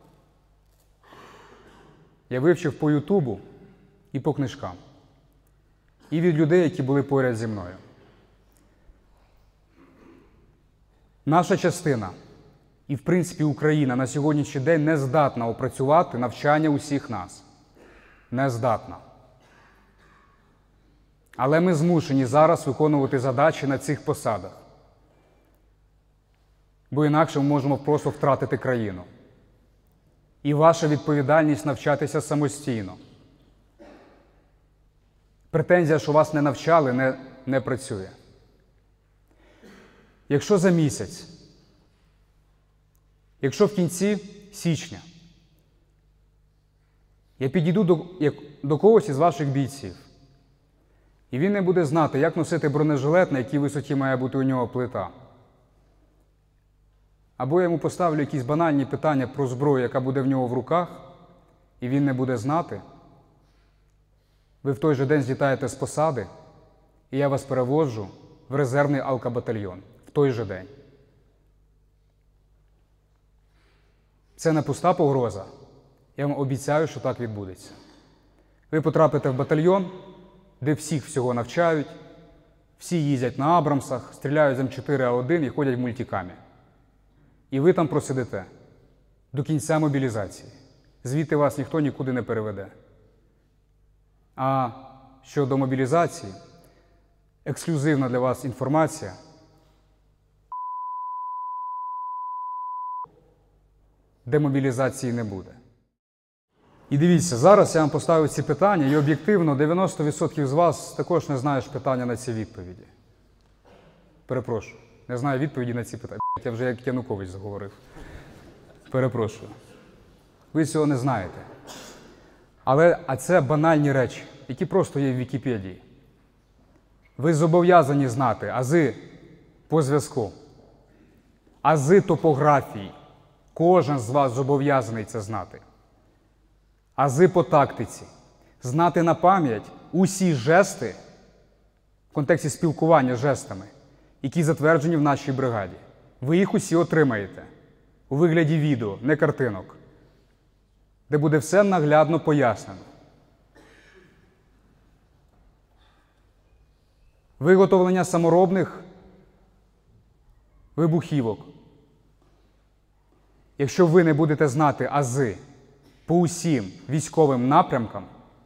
я вивчив по Ютубу і по книжкам. І від людей, які були поряд зі мною. Наша частина, і в принципі Україна на сьогоднішній день не здатна опрацювати навчання усіх нас. Не здатна. Але ми змушені зараз виконувати задачі на цих посадах. Бо інакше ми можемо просто втратити країну. І ваша відповідальність навчатися самостійно. Претензія, що вас не навчали, не працює. Якщо за місяць, якщо в кінці січня я підійду до когось із ваших бійців, і він не буде знати, як носити бронежилет, на якій висоті має бути у нього плита, або я йому поставлю якісь банальні питання про зброю, яка буде в нього в руках, і він не буде знати, ви в той же день злітаєте з посади, і я вас переводжу в резервний алкобатальйон. В той же день. Це не пуста погроза. Я вам обіцяю, що так відбудеться. Ви потрапите в батальйон, де всіх всього навчають, всі їздять на Абрамсах, стріляють з М4А1 і ходять в мультикамі. І ви там просидите до кінця мобілізації. Звідти вас ніхто нікуди не переведе. А щодо мобілізації, ексклюзивна для вас інформація. Демобілізації не буде. І дивіться, зараз я вам поставив ці питання, і об'єктивно 90% з вас також не знаєш питання на ці відповіді. Перепрошую. Не знаю відповіді на ці питання. Я вже як Янукович заговорив. Перепрошую. Ви цього не знаєте. А це банальні речі, які просто є в Вікіпедії. Ви зобов'язані знати ази по зв'язку, ази топографії. Кожен з вас зобов'язаний це знати. Ази по тактиці. Знати на пам'ять усі жести в контексті спілкування жестами, які затверджені в нашій бригаді. Ви їх усі отримаєте у вигляді відео, не картинок, де буде все наглядно пояснено. Виготовлення саморобних вибухівок. Якщо ви не будете знати ази по усім військовим напрямкам,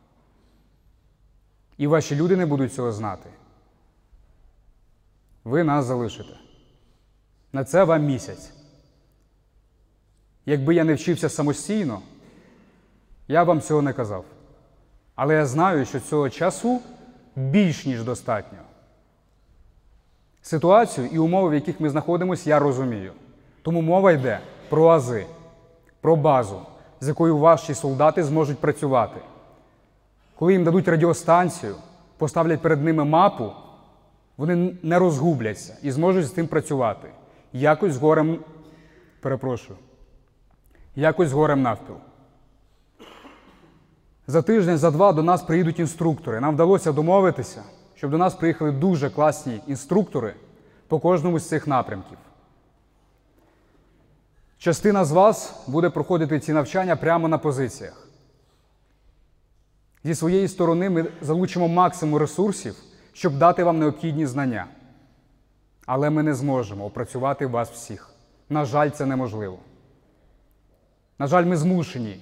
і ваші люди не будуть цього знати, ви нас залишите. На це вам місяць. Якби я не вчився самостійно, я вам цього не казав. Але я знаю, що цього часу більш ніж достатньо. Ситуацію і умови, в яких ми знаходимося, я розумію. Тому мова йде про ази, про базу, з якою ваші солдати зможуть працювати. Коли їм дадуть радіостанцію, поставлять перед ними мапу, вони не розгубляться і зможуть з тим працювати. Якось з горем навпіл. За тиждень, за два до нас приїдуть інструктори. Нам вдалося домовитися, щоб до нас приїхали дуже класні інструктори по кожному з цих напрямків. Частина з вас буде проходити ці навчання прямо на позиціях. Зі своєї сторони ми залучимо максимум ресурсів, щоб дати вам необхідні знання. Але ми не зможемо опрацювати вас всіх. На жаль, це неможливо. На жаль, ми змушені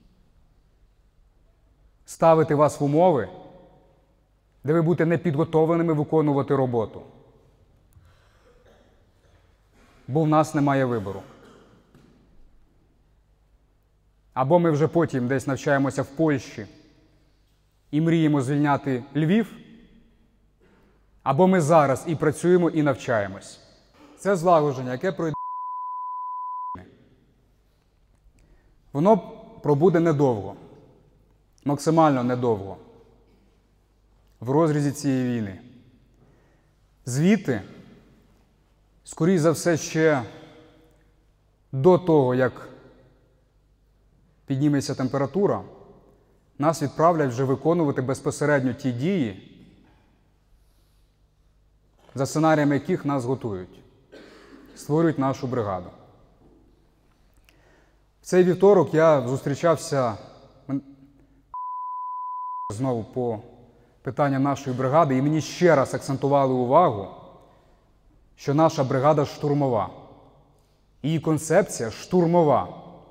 ставити вас в умови, де ви будете непідготовленими виконувати роботу. Бо в нас немає вибору. Або ми вже потім десь навчаємося в Польщі і мріємо звільняти Львів, або ми зараз і працюємо, і навчаємось. Це злагодження, яке пройде. Воно пробуде недовго, максимально недовго, в розрізі цієї війни. Звідти, скоріш за все, ще до того, як підніметься температура, нас відправлять вже виконувати безпосередньо ті дії, за сценаріями яких нас готують, створюють нашу бригаду. цей вівторок я зустрічався знову по питанням нашої бригади, і мені ще раз акцентували увагу, що наша бригада штурмова. Її концепція штурмова.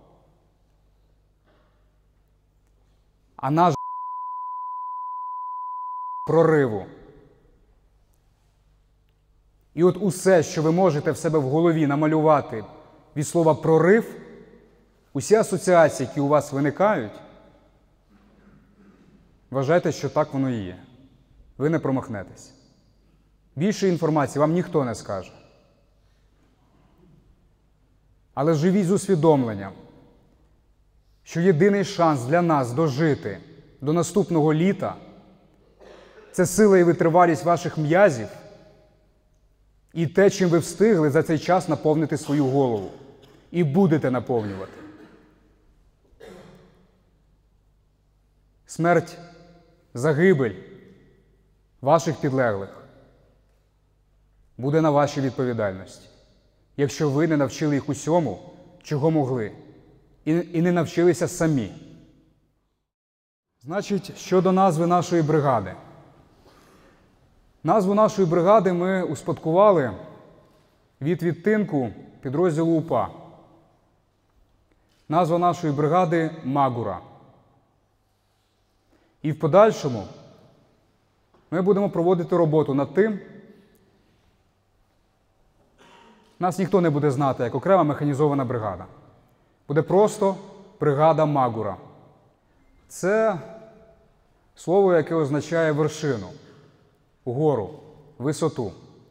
А наш прориву. І от усе, що ви можете в себе в голові намалювати від слова «прорив», усі асоціації, які у вас виникають, вважайте, що так воно і є. Ви не промахнетесь. Більше інформації вам ніхто не скаже. Але живіть з усвідомленням, що єдиний шанс для нас дожити до наступного літа – це сила і витривалість ваших м'язів і те, чим ви встигли за цей час наповнити свою голову. І будете наповнювати. Смерть, загибель ваших підлеглих буде на вашій відповідальності, якщо ви не навчили їх усьому, чого могли, і не навчилися самі. Значить, щодо назви нашої бригади. Назву нашої бригади ми успадкували від відтинку підрозділу УПА. Назва нашої бригади – Магура. І в подальшому ми будемо проводити роботу над тим, нас ніхто не буде знати як окрема механізована бригада. Буде просто бригада Магура. Це слово, яке означає вершину, гору, висоту.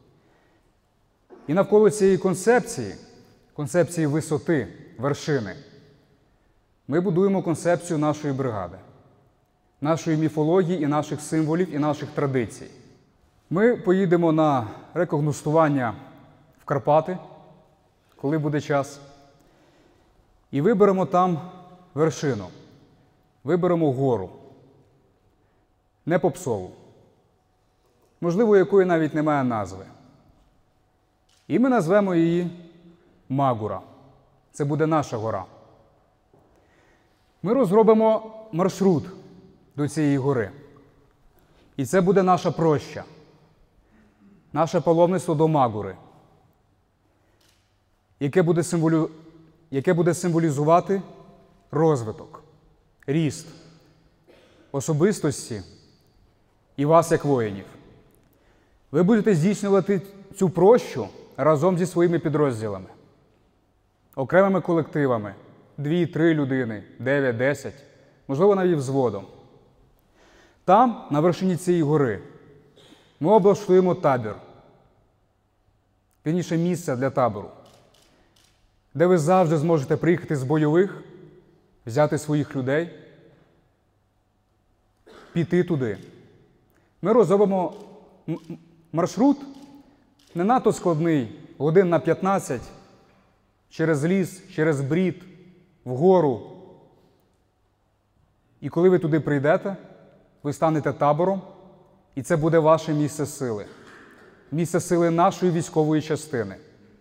І навколо цієї концепції висоти, вершини, ми будуємо концепцію нашої бригади, нашої міфології і наших символів, і наших традицій. Ми поїдемо на рекогностування в Карпати, коли буде час, і виберемо там вершину, виберемо гору, не попсову, можливо, якої навіть немає назви. І ми назвемо її Магура. Це буде наша гора. Ми розробимо маршрут до цієї гори. І це буде наша проща, наше паломництво до Магури, яке буде символізувати розвиток, ріст особистості і вас як воїнів. Ви будете здійснювати цю прощу разом зі своїми підрозділами, окремими колективами, 2-3 людини, 9-10, можливо, навіть взводом. Там, на вершині цієї гори, ми облаштуємо табір, вірніше місце для табору, де ви завжди зможете приїхати з бойових, взяти своїх людей, піти туди. Ми розробимо маршрут не надто складний, годин на 15, через ліс, через брід, вгору. І коли ви туди прийдете, ви станете табором, і це буде ваше місце сили. Місце сили нашої військової частини,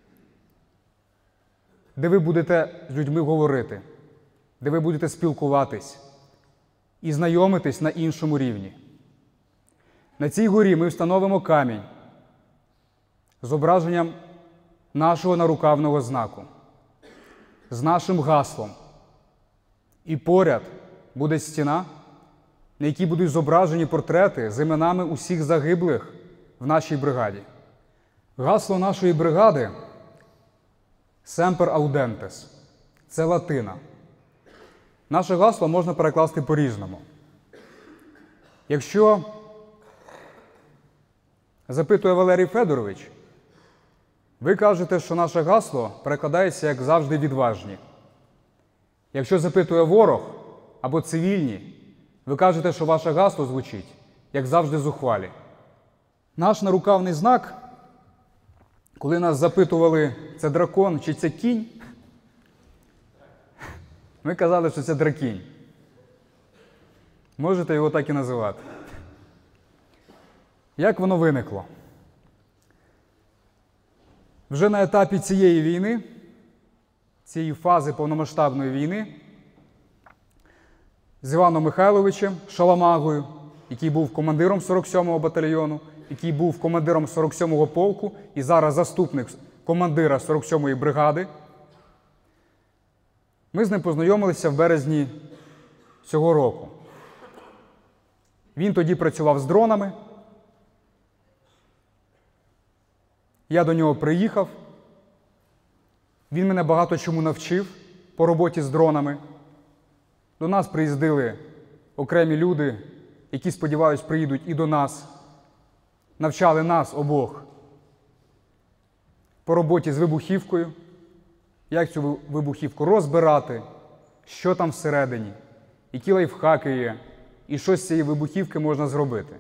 де ви будете з людьми говорити, де ви будете спілкуватись і знайомитись на іншому рівні. На цій горі ми встановимо камінь з зображенням нашого нарукавного знаку, з нашим гаслом. І поряд буде стіна, на якій будуть зображені портрети з іменами усіх загиблих в нашій бригаді. Гасло нашої бригади «Semper Audentes» – це латина. Наше гасло можна перекласти по-різному. Якщо запитує Валерій Федорович, ви кажете, що наше гасло перекладається як «завжди відважні». Якщо запитує ворог або цивільні, ви кажете, що ваше гасло звучить як «завжди зухвалі». Наш нарукавний знак, коли нас запитували, це дракон чи це кінь, ми казали, що це дракінь. Можете його так і називати. Як воно виникло? Вже на етапі цієї війни цієї фази повномасштабної війни з Іваном Михайловичем Шаламагою, який був командиром 47-го батальйону, який був командиром 47-го полку і зараз заступник командира 47-ї бригади. Ми з ним познайомилися в березні цього року. Він тоді працював з дронами. Я до нього приїхав. Він мене багато чому навчив по роботі з дронами. До нас приїздили окремі люди, які, сподіваюсь, приїдуть і до нас. Навчали нас обох по роботі з вибухівкою, як цю вибухівку розбирати, що там всередині, які лайфхаки є, і що з цієї вибухівки можна зробити.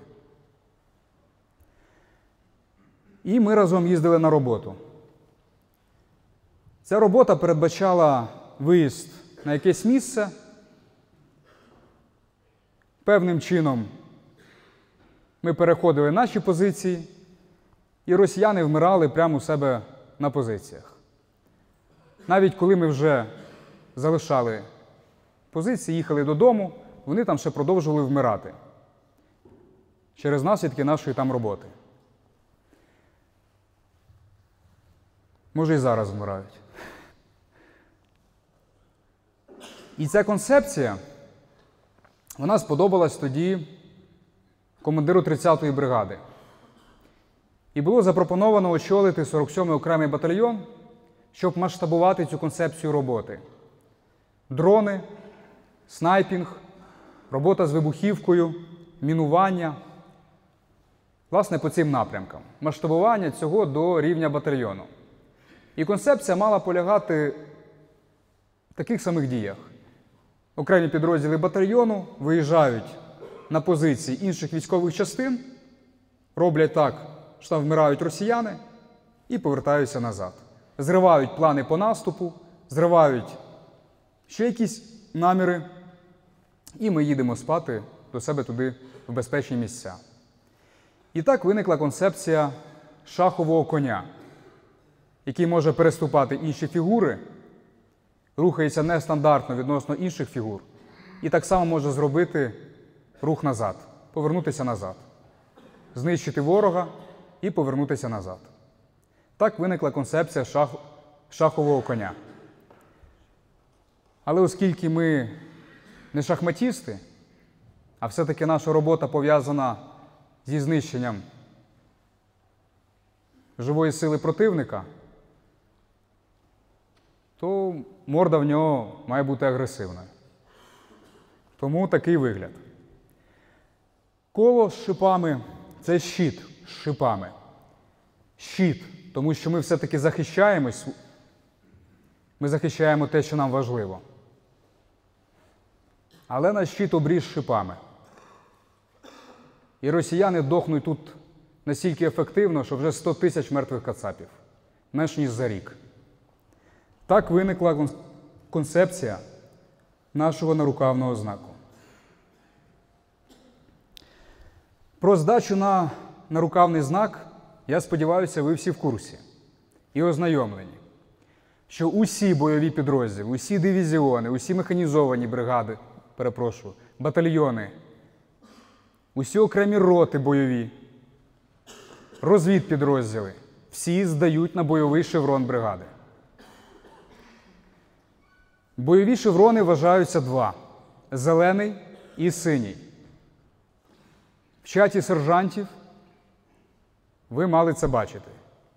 І ми разом їздили на роботу. Ця робота передбачала виїзд на якесь місце. Певним чином ми переходили наші позиції, і росіяни вмирали прямо у себе на позиціях. Навіть коли ми вже залишали позиції, їхали додому, вони там ще продовжували вмирати через наслідки нашої там роботи. Може, і зараз вмирають. І ця концепція, вона сподобалась тоді командиру 30-ї бригади. І було запропоновано очолити 47-й окремий батальйон, щоб масштабувати цю концепцію роботи. Дрони, снайпінг, робота з вибухівкою, мінування. Власне, по цим напрямкам. Масштабування цього до рівня батальйону. І концепція мала полягати в таких самих діях. Окремі підрозділи батальйону виїжджають на позиції інших військових частин, роблять так, що там вмирають росіяни, і повертаються назад. Зривають плани по наступу, зривають ще якісь наміри, і ми їдемо спати до себе туди в безпечні місця. І так виникла концепція шахового коня, який може переступати інші фігури, рухається нестандартно відносно інших фігур, і так само може зробити рух назад, повернутися назад, знищити ворога і повернутися назад. Так виникла концепція шахового коня. Але оскільки ми не шахматісти, а все-таки наша робота пов'язана зі знищенням живої сили противника, то морда в нього має бути агресивною. Тому такий вигляд. Коло з шипами – це щит з шипами. Щит, тому що ми все-таки захищаємось, ми захищаємо те, що нам важливо. Але наш щит обріз шипами. І росіяни дохнуть тут настільки ефективно, що вже 100 тисяч мертвих кацапів. Менш ніж за рік. Так виникла концепція нашого нарукавного знаку. Про здачу на нарукавний знак, я сподіваюся, ви всі в курсі і ознайомлені, що усі бойові підрозділи, усі дивізіони, усі механізовані бригади, батальйони, усі окремі роти бойові, розвідпідрозділи, всі здають на бойовий шеврон бригади. Бойові шеврони вважаються два – зелений і синій. В чаті сержантів ви мали це бачити.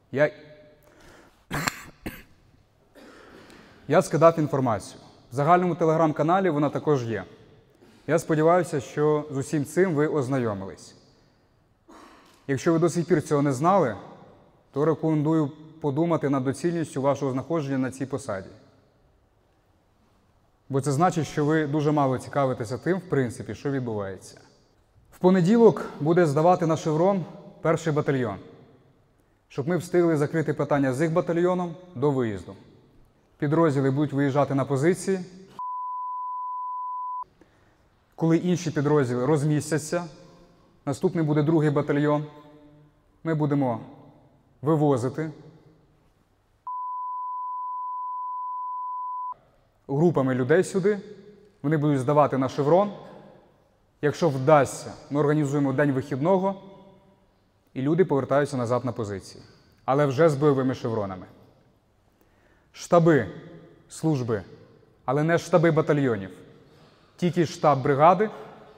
Я скидав інформацію. В загальному телеграм-каналі вона також є. Я сподіваюся, що з усім цим ви ознайомились. Якщо ви до сих пір цього не знали, то рекомендую подумати над доцільністю вашого знаходження на цій посаді. Бо це значить, що ви дуже мало цікавитеся тим, в принципі, що відбувається. В понеділок буде здавати на шеврон перший батальйон, щоб ми встигли закрити питання з їх батальйоном до виїзду. Підрозділи будуть виїжджати на позиції. Коли інші підрозділи розмістяться, наступний буде другий батальйон, ми будемо вивозити групами людей сюди, вони будуть здавати на шеврон. Якщо вдасться, ми організуємо день вихідного, і люди повертаються назад на позиції. Але вже з бойовими шевронами. Штаби, служби, але не штаби батальйонів. Тільки штаб бригади,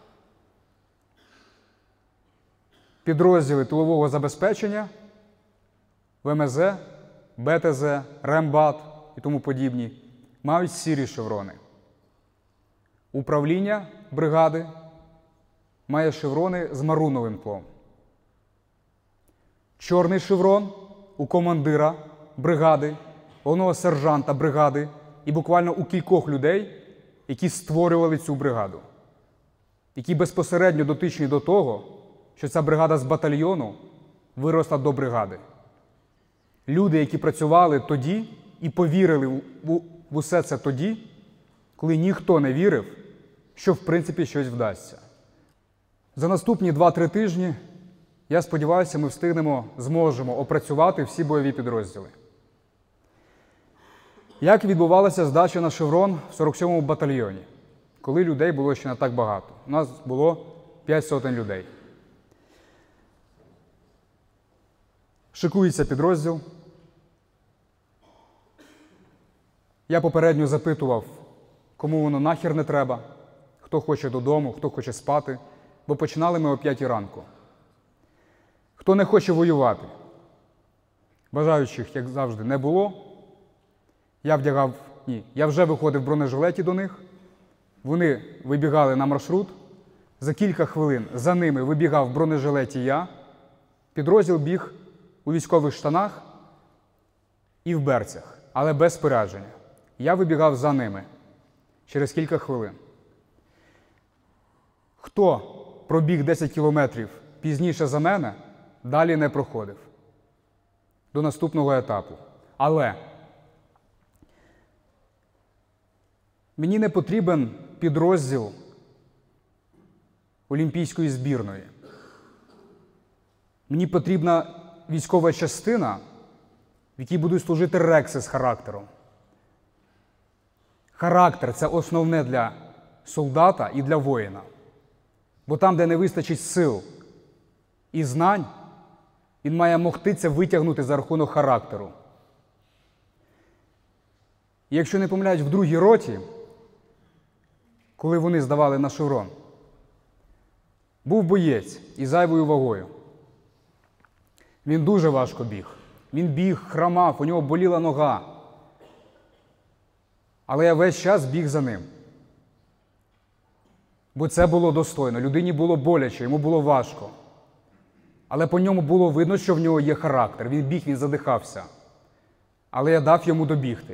підрозділи тилового забезпечення, ВМЗ, БТЗ, рембат і тому подібні мають сірі шеврони. Управління бригади має шеврони з маруновим тлом. Чорний шеврон у командира бригади, головного сержанта бригади і буквально у кількох людей, які створювали цю бригаду, які безпосередньо дотичні до того, що ця бригада з батальйону виросла до бригади. Люди, які працювали тоді і повірили в усе це тоді, коли ніхто не вірив, що в принципі щось вдасться. За наступні 2-3 тижні, я сподіваюся, ми зможемо опрацювати всі бойові підрозділи. Як відбувалася здача на шеврон в 47-му батальйоні, коли людей було ще не так багато? У нас було 5 сотень людей. Шикується підрозділ. Я попередньо запитував, кому воно нахер не треба, хто хоче додому, хто хоче спати, бо починали ми о 5 ранку. Хто не хоче воювати? Бажаючих, як завжди, не було. Я вже виходив в бронежилеті до них. Вони вибігали на маршрут. За кілька хвилин за ними вибігав в бронежилеті я. Підрозділ біг у військових штанах і в берцях, але без спорядження. Я вибігав за ними через кілька хвилин. Хто пробіг 10 кілометрів пізніше за мене, далі не проходив до наступного етапу. Але мені не потрібен підрозділ олімпійської збірної. Мені потрібна військова частина, в якій будуть служити рекси з характером. Характер – це основне для солдата і для воїна. Бо там, де не вистачить сил і знань, він має могти це витягнути за рахунок характеру. І якщо не помиляють, в 2-й роті, коли вони здавали на шеврон, був боєць із зайвою вагою. Він дуже важко біг. Він біг, хромав, у нього боліла нога. Але я весь час біг за ним. Бо це було достойно. Людині було боляче, йому було важко. Але по ньому було видно, що в нього є характер. Він біг, він задихався. Але я дав йому добігти.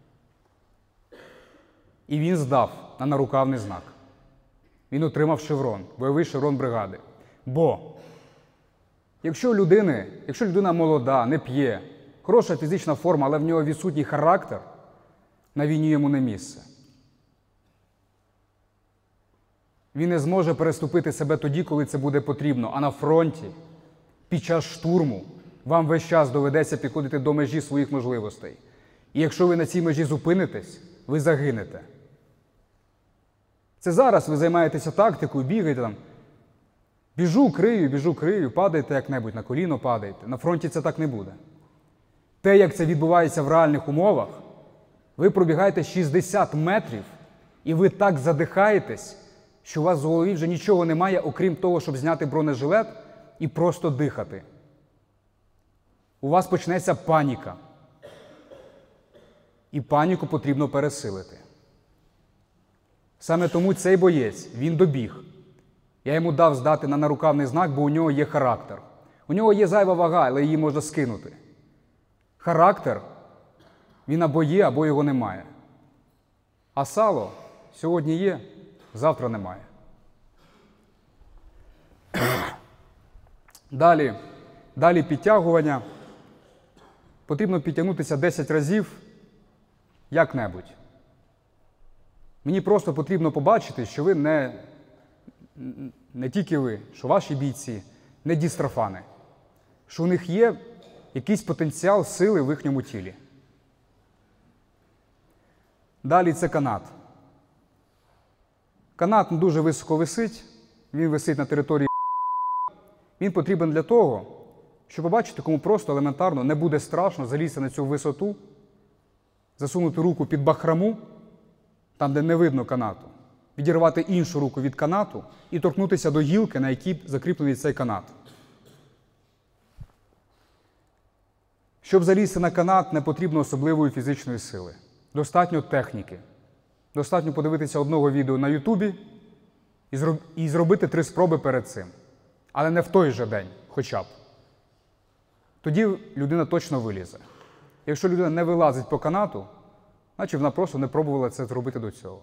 І він здав на нарукавний знак. Він отримав шеврон, бойовий шеврон бригади. Бо якщо людина молода, не п'є, хороша фізична форма, але в нього відсутній характер, на війні йому не місце. Він не зможе переступити себе тоді, коли це буде потрібно. А на фронті, під час штурму, вам весь час доведеться підходити до межі своїх можливостей. І якщо ви на цій межі зупинитесь, ви загинете. Це зараз ви займаєтеся тактикою, бігаєте там. Біжу, крию, падаєте як-небудь, на коліно падаєте. На фронті це так не буде. Те, як це відбувається в реальних умовах, ви пробігаєте 60 метрів, і ви так задихаєтесь, що у вас в голові вже нічого немає, окрім того, щоб зняти бронежилет і просто дихати. У вас почнеться паніка. І паніку потрібно пересилити. Саме тому цей боєць, він добіг. Я йому дав здати на нарукавний знак, бо у нього є характер. У нього є зайва вага, але її можна скинути. Характер, він або є, або його немає. А сало сьогодні є, завтра немає. Далі підтягування. Потрібно підтягнутися 10 разів як-небудь. Мені просто потрібно побачити, що ви не тільки ви, що ваші бійці не дістрофани, що у них є якийсь потенціал сили в їхньому тілі. Далі це канат. Канат дуже високо висить, він висить на території. Він потрібен для того, щоб побачити, кому просто елементарно не буде страшно залізти на цю висоту, засунути руку під бахраму, там, де не видно канату, відірвати іншу руку від канату і торкнутися до гілки, на якій закріплений цей канат. Щоб залізти на канат, не потрібно особливої фізичної сили. Достатньо техніки. Достатньо подивитися одного відео на Ютубі і зробити 3 спроби перед цим. Але не в той же день, хоча б. Тоді людина точно вилізе. Якщо людина не вилазить по канату, значить вона просто не пробувала це зробити до цього.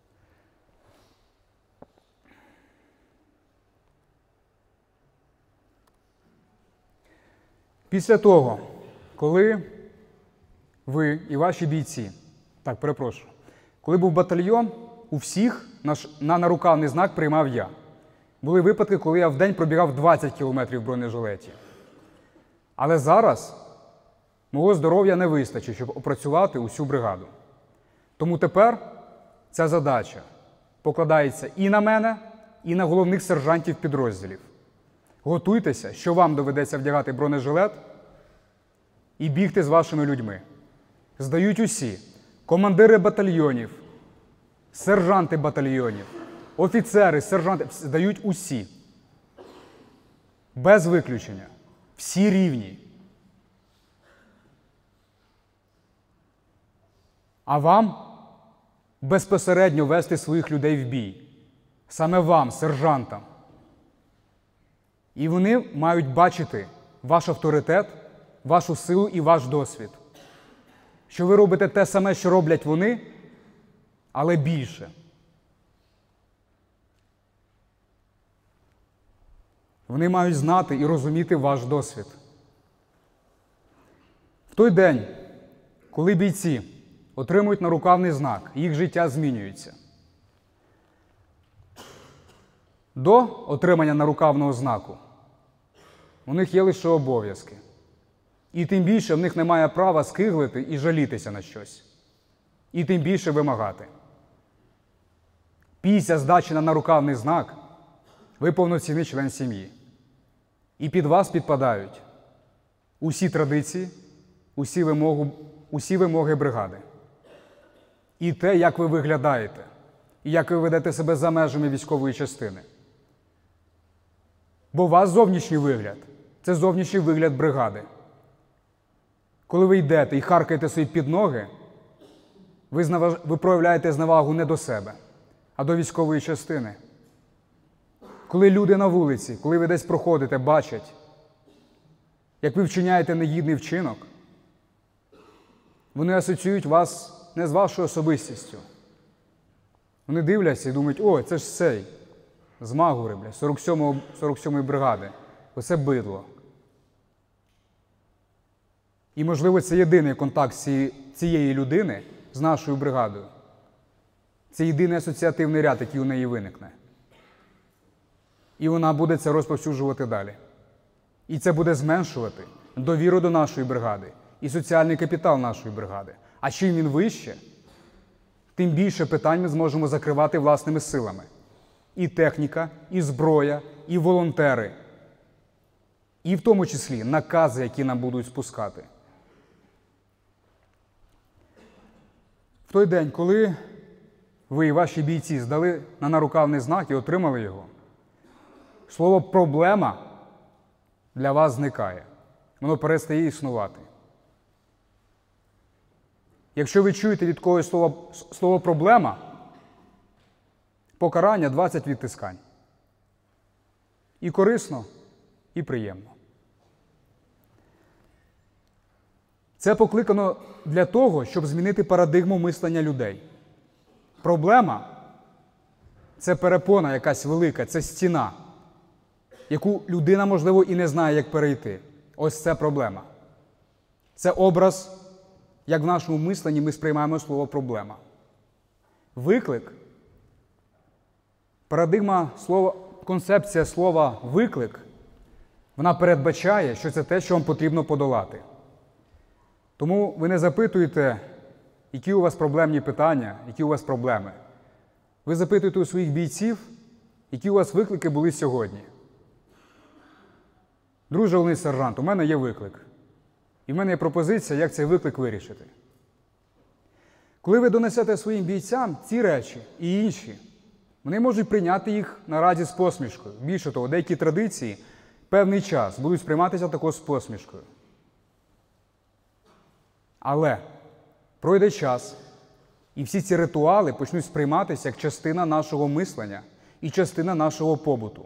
Після того, коли ви і ваші бійці, коли був батальйон, у всіх на нарукавний знак приймав я. Були випадки, коли я в день пробігав 20 кілометрів в бронежилеті. Але зараз мого здоров'я не вистачить, щоб опрацювати усю бригаду. Тому тепер ця задача покладається і на мене, і на головних сержантів підрозділів. Готуйтеся, що вам доведеться вдягати бронежилет і бігти з вашими людьми. Здають усі – командири батальйонів, сержанти батальйонів, офіцери, сержанти – здають усі. Без виключення. Всі рівні. А вам безпосередньо вести своїх людей в бій. Саме вам, сержантам. І вони мають бачити ваш авторитет, вашу силу і ваш досвід. Що ви робите те саме, що роблять вони, але більше. Вони мають знати і розуміти ваш досвід. В той день, коли бійці отримують нарукавний знак, їх життя змінюється. До отримання нарукавного знаку у них є лише обов'язки. І тим більше в них немає права скиглити і жалітися на щось. І тим більше вимагати. Після здачі на нарукавний знак ви повноцінний член сім'ї. І під вас підпадають усі традиції, усі вимоги бригади. І те, як ви виглядаєте, і як ви ведете себе за межами військової частини. Бо у вас зовнішній вигляд – це зовнішній вигляд бригади. Коли ви йдете і харкаєте собі під ноги, ви проявляєте зневагу не до себе, а до військової частини. Коли люди на вулиці, коли ви десь проходите, бачать, як ви вчиняєте негідний вчинок, вони асоціюють вас не з вашою особистістю. Вони дивляться і думають, о, це ж цей, з Магури, 47-ї бригади. Оце бидло. І, можливо, це єдиний контакт цієї людини з нашою бригадою. Це єдиний асоціативний ряд, який у неї виникне. І вона буде це розповсюджувати далі. І це буде зменшувати довіру до нашої бригади і соціальний капітал нашої бригади. А чим він вище, тим більше питань ми зможемо закривати власними силами. І техніка, і зброя, і волонтери. І в тому числі накази, які нам будуть спускати. В той день, коли ви і ваші бійці здали на нарукавний знак і отримали його, слово «проблема» для вас зникає. Воно перестає існувати. Якщо ви чуєте від когось слово «проблема», покарання 20 відтискань. І корисно, і приємно. Це покликано для того, щоб змінити парадигму мислення людей. Проблема – це перепона якась велика, це стіна, яку людина, можливо, і не знає, як перейти. Ось це проблема. Це образ, як в нашому мисленні ми сприймаємо слово «проблема». Виклик – парадигма слова, концепція слова «виклик», вона передбачає, що це те, що вам потрібно подолати. Тому ви не запитуєте які у вас проблемні питання, які у вас проблеми. Ви запитуєте у своїх бійців, які у вас виклики були сьогодні. Друже головний сержант, у мене є виклик. І в мене є пропозиція, як цей виклик вирішити. Коли ви донесете своїм бійцям ці речі і інші, вони можуть прийняти їх наразі з посмішкою. Більше того, деякі традиції певний час будуть сприйматися також з посмішкою. Але пройде час, і всі ці ритуали почнуть сприйматися як частина нашого мислення і частина нашого побуту.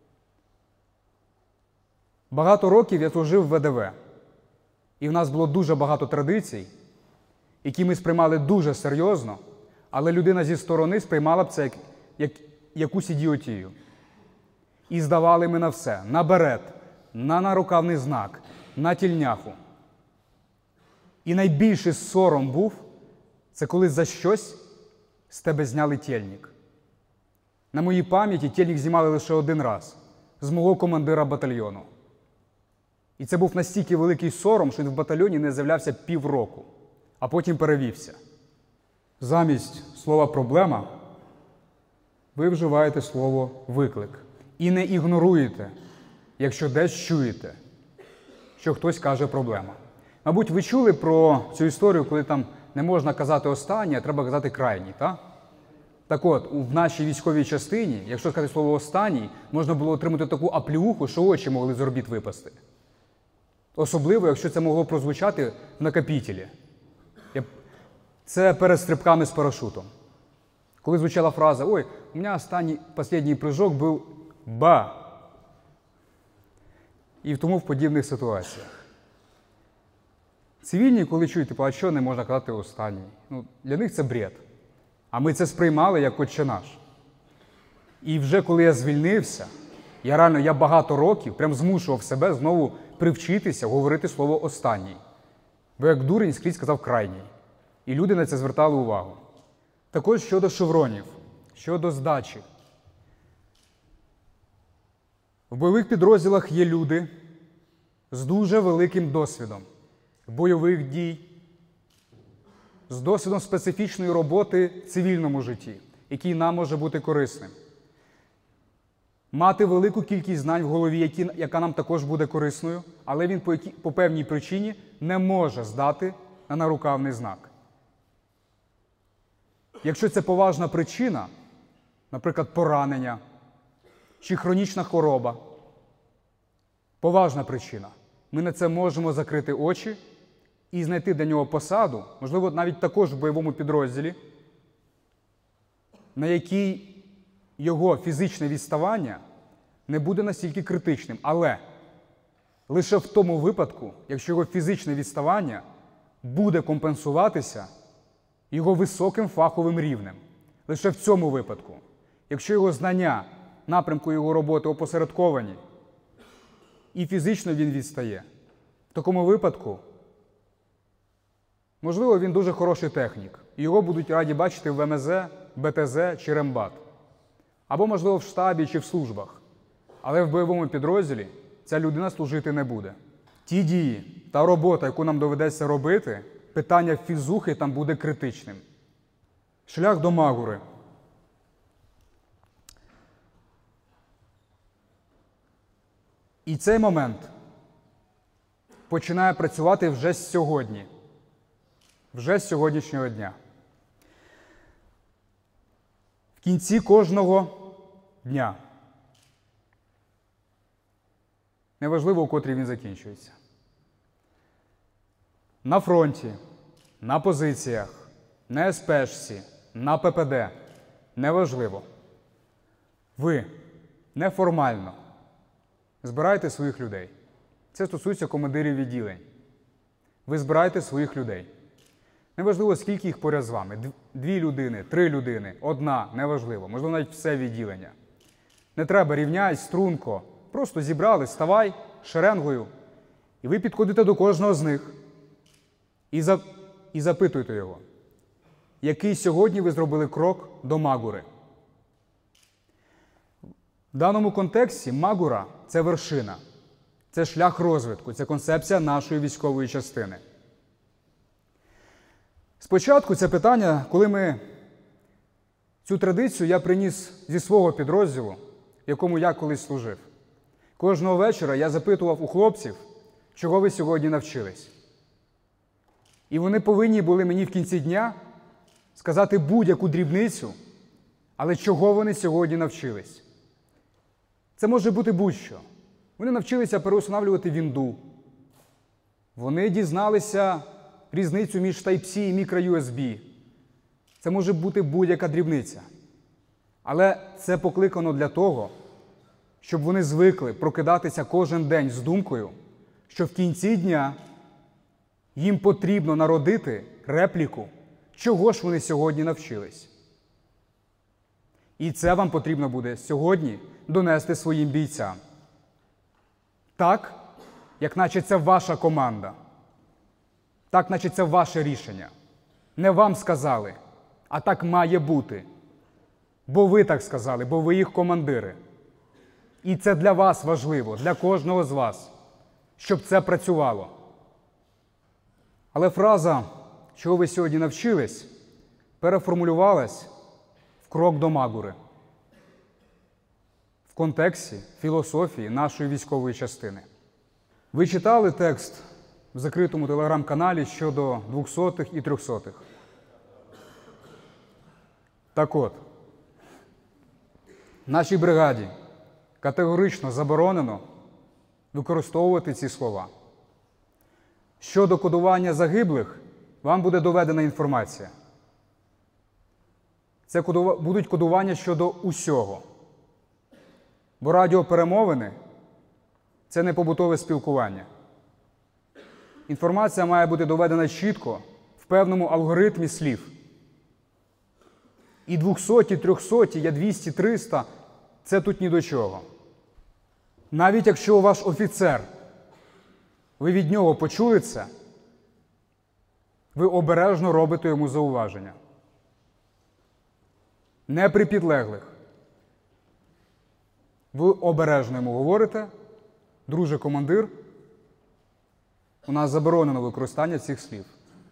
Багато років я служив в ВДВ, і в нас було дуже багато традицій, які ми сприймали дуже серйозно, але людина зі сторони сприймала б це як якусь ідіотію. І здавали ми на все, на берет, на нарукавний знак, на тільняху. І найбільший сором був, це коли за щось з тебе зняли тельник. На моїй пам'яті тельник знімали лише один раз, з мого командира батальйону. І це був настільки великий сором, що він в батальйоні не з'являвся півроку, а потім перевівся. Замість слова «проблема» ви вживаєте слово «виклик». І не ігноруєте, якщо десь чуєте, що хтось каже «проблема». Мабуть, ви чули про цю історію, коли там не можна казати «останній», а треба казати «крайній», так? Так от, в нашій військовій частині, якщо сказати слово «останній», можна було отримати таку аплюху, що очі могли з орбіт випасти. Особливо, якщо це могло прозвучати в накопітелі. Це перед стрибками з парашутом. Коли звучала фраза «Ой, у мене останній прыжок був ба». І в тому в подібних ситуаціях. Цивільні, коли чують, типу, а що не можна казати останній? Для них це бред. А ми це сприймали як «Отче наш». І вже коли я звільнився, я багато років прям змушував себе знову привчитися говорити слово «останній». Бо як дурень скрізь сказав «крайній». І люди на це звертали увагу. Також щодо шевронів, щодо здачі. В бойових підрозділах є люди з дуже великим досвідом бойових дій, з досвідом специфічної роботи в цивільному житті, який нам може бути корисним. Мати велику кількість знань в голові, яка нам також буде корисною, але він по певній причині не може здати на нарукавний знак. Якщо це поважна причина, наприклад, поранення чи хронічна хвороба, поважна причина, ми на це можемо закрити очі і знайти для нього посаду, можливо, навіть також в бойовому підрозділі, на якій його фізичне відставання не буде настільки критичним. Але лише в тому випадку, якщо його фізичне відставання буде компенсуватися його високим фаховим рівнем. Лише в цьому випадку. Якщо його знання, напрямку його роботи опосередковані і фізично він відстає, в такому випадку, можливо, він дуже хороший технік. І його будуть раді бачити в ВМЗ, БТЗ чи рембат. Або, можливо, в штабі чи в службах. Але в бойовому підрозділі ця людина служити не буде. Ті дії та робота, яку нам доведеться робити, питання фізухи там буде критичним. Шлях до Магури. І цей момент починає працювати вже сьогодні. Вже з сьогоднішнього дня. В кінці кожного дня. Неважливо, у котрій він закінчується. На фронті, на позиціях, на СПшці, на ППД. Неважливо. Ви неформально збираєте своїх людей. Це стосується командирів відділень. Ви збираєте своїх людей. Неважливо, скільки їх поряд з вами. 2 людини, 3 людини, 1, неважливо. Можливо, навіть все відділення. Не треба рівняй, струнко. Просто зібрали, ставай шеренгою. І ви підходите до кожного з них. І запитуєте його, який сьогодні ви зробили крок до Магури. В даному контексті Магура – це вершина, це шлях розвитку, це концепція нашої військової частини. Спочатку це питання, коли цю традицію я приніс зі свого підрозділу, в якому я колись служив. Кожного вечора я запитував у хлопців, чого ви сьогодні навчились. І вони повинні були мені в кінці дня сказати будь-яку дрібницю, але чого вони сьогодні навчились. Це може бути будь-що. Вони навчилися переустанавлювати вінду. Вони дізналися різницю між Type-C і мікро-USB. Це може бути будь-яка дрібниця. Але це покликано для того, щоб вони звикли прокидатися кожен день з думкою, що в кінці дня їм потрібно народити репліку, чого ж вони сьогодні навчились. І це вам потрібно буде сьогодні донести своїм бійцям. Так, як наче це ваша команда. Так, наче це ваше рішення. Не вам сказали, а так має бути. Бо ви так сказали, бо ви їх командири. І це для вас важливо, для кожного з вас, щоб це працювало. Але фраза, чого ви сьогодні навчились, переформулювалась в крок до Магури. В контексті філософії нашої військової частини. Ви читали текст в закритому телеграм-каналі щодо 200-х і 300-х. Так от, нашій бригаді категорично заборонено використовувати ці слова. Щодо кодування загиблих, вам буде доведена інформація. Це будуть кодування щодо усього. Бо радіоперемовини – це не побутове спілкування. Інформація має бути доведена чітко, в певному алгоритмі слів. І 200, 300, я 200, 300 – це тут ні до чого. Навіть якщо ваш офіцер, ви від нього почули це, ви обережно робите йому зауваження. Не при підлеглих. Ви обережно йому говорите: друже командир, у нас заборонено використання цих слів.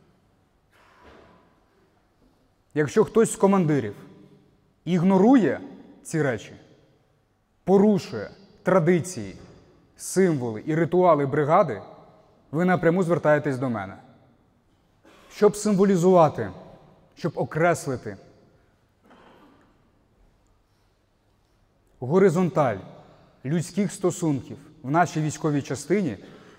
Якщо хтось з командирів ігнорує ці речі, порушує традиції, символи і ритуали бригади, ви напряму звертаєтесь до мене. Щоб символізувати, щоб окреслити горизонталь людських стосунків в нашій військовій частині,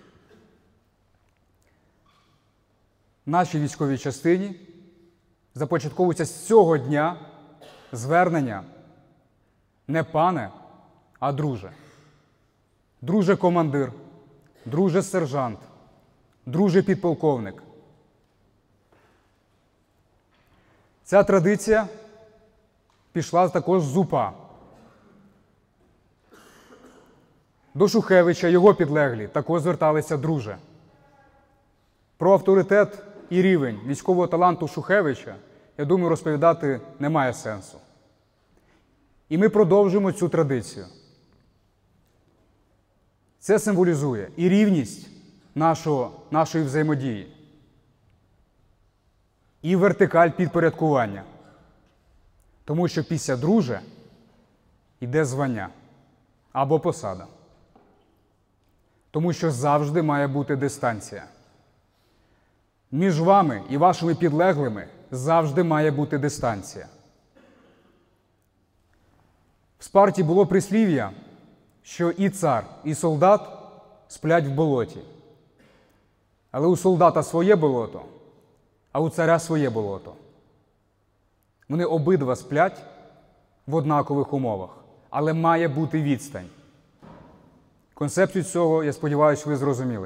започатковується з цього дня звернення не пане, а друже. Друже командир, друже сержант, друже підполковник. Ця традиція пішла також з УПА. До Шухевича його підлеглі також зверталися друже. Про авторитет і рівень військового таланту Шухевича, я думаю, розповідати немає сенсу. І ми продовжуємо цю традицію. Це символізує і рівність нашої взаємодії, і вертикаль підпорядкування. Тому що після друже йде звання або посада. Тому що завжди має бути дистанція. Між вами і вашими підлеглими завжди має бути дистанція. В Спарті було прислів'я, що і цар, і солдат сплять в болоті. Але у солдата своє болото, а у царя своє болото. Вони обидва сплять в однакових умовах, але має бути відстань. Концепцію цього, я сподіваюся, ви зрозуміли.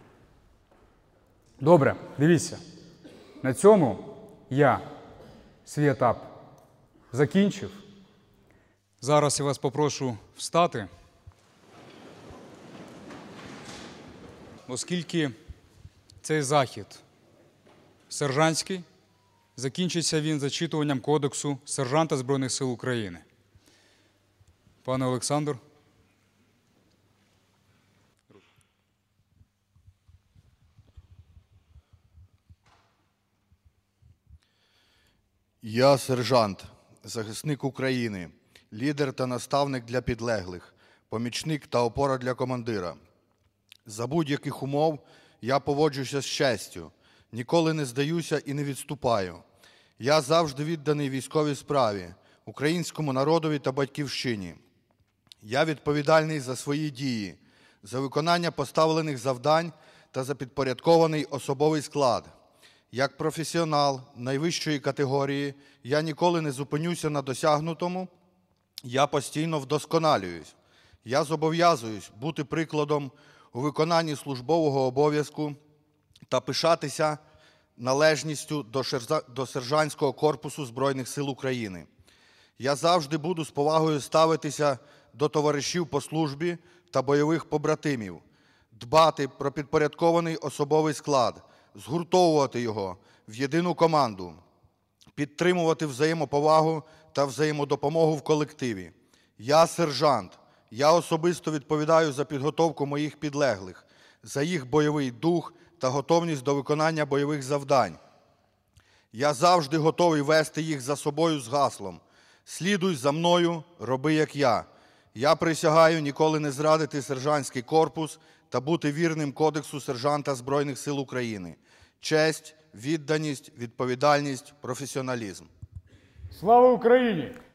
Добре, дивіться. На цьому я свій етап закінчив. Зараз я вас попрошу встати, оскільки цей захід сержантський, закінчиться він зачитуванням Кодексу сержанта Збройних сил України. Пане Олександр. Я сержант, захисник України, лідер та наставник для підлеглих, помічник та опора для командира. За будь-яких умов я поводжуся з честю, ніколи не здаюся і не відступаю. Я завжди відданий військовій справі, українському народові та батьківщині. Я відповідальний за свої дії, за виконання поставлених завдань та за підпорядкований особовий склад. Як професіонал найвищої категорії я ніколи не зупинюся на досягнутому, я постійно вдосконалююсь. Я зобов'язуюсь бути прикладом у виконанні службового обов'язку та пишатися належністю до сержантського корпусу Збройних сил України. Я завжди буду з повагою ставитися до товаришів по службі та бойових побратимів, дбати про підпорядкований особовий склад, згуртовувати його в єдину команду, підтримувати взаємоповагу та взаємодопомогу в колективі. Я сержант. Я особисто відповідаю за підготовку моїх підлеглих, за їх бойовий дух та готовність до виконання бойових завдань. Я завжди готовий вести їх за собою з гаслом «Слідуй за мною, роби як я». Я присягаю ніколи не зрадити сержантський корпус та бути вірним кодексу сержанта Збройних сил України. Честь, відданість, відповідальність, професіоналізм. Слава Україні!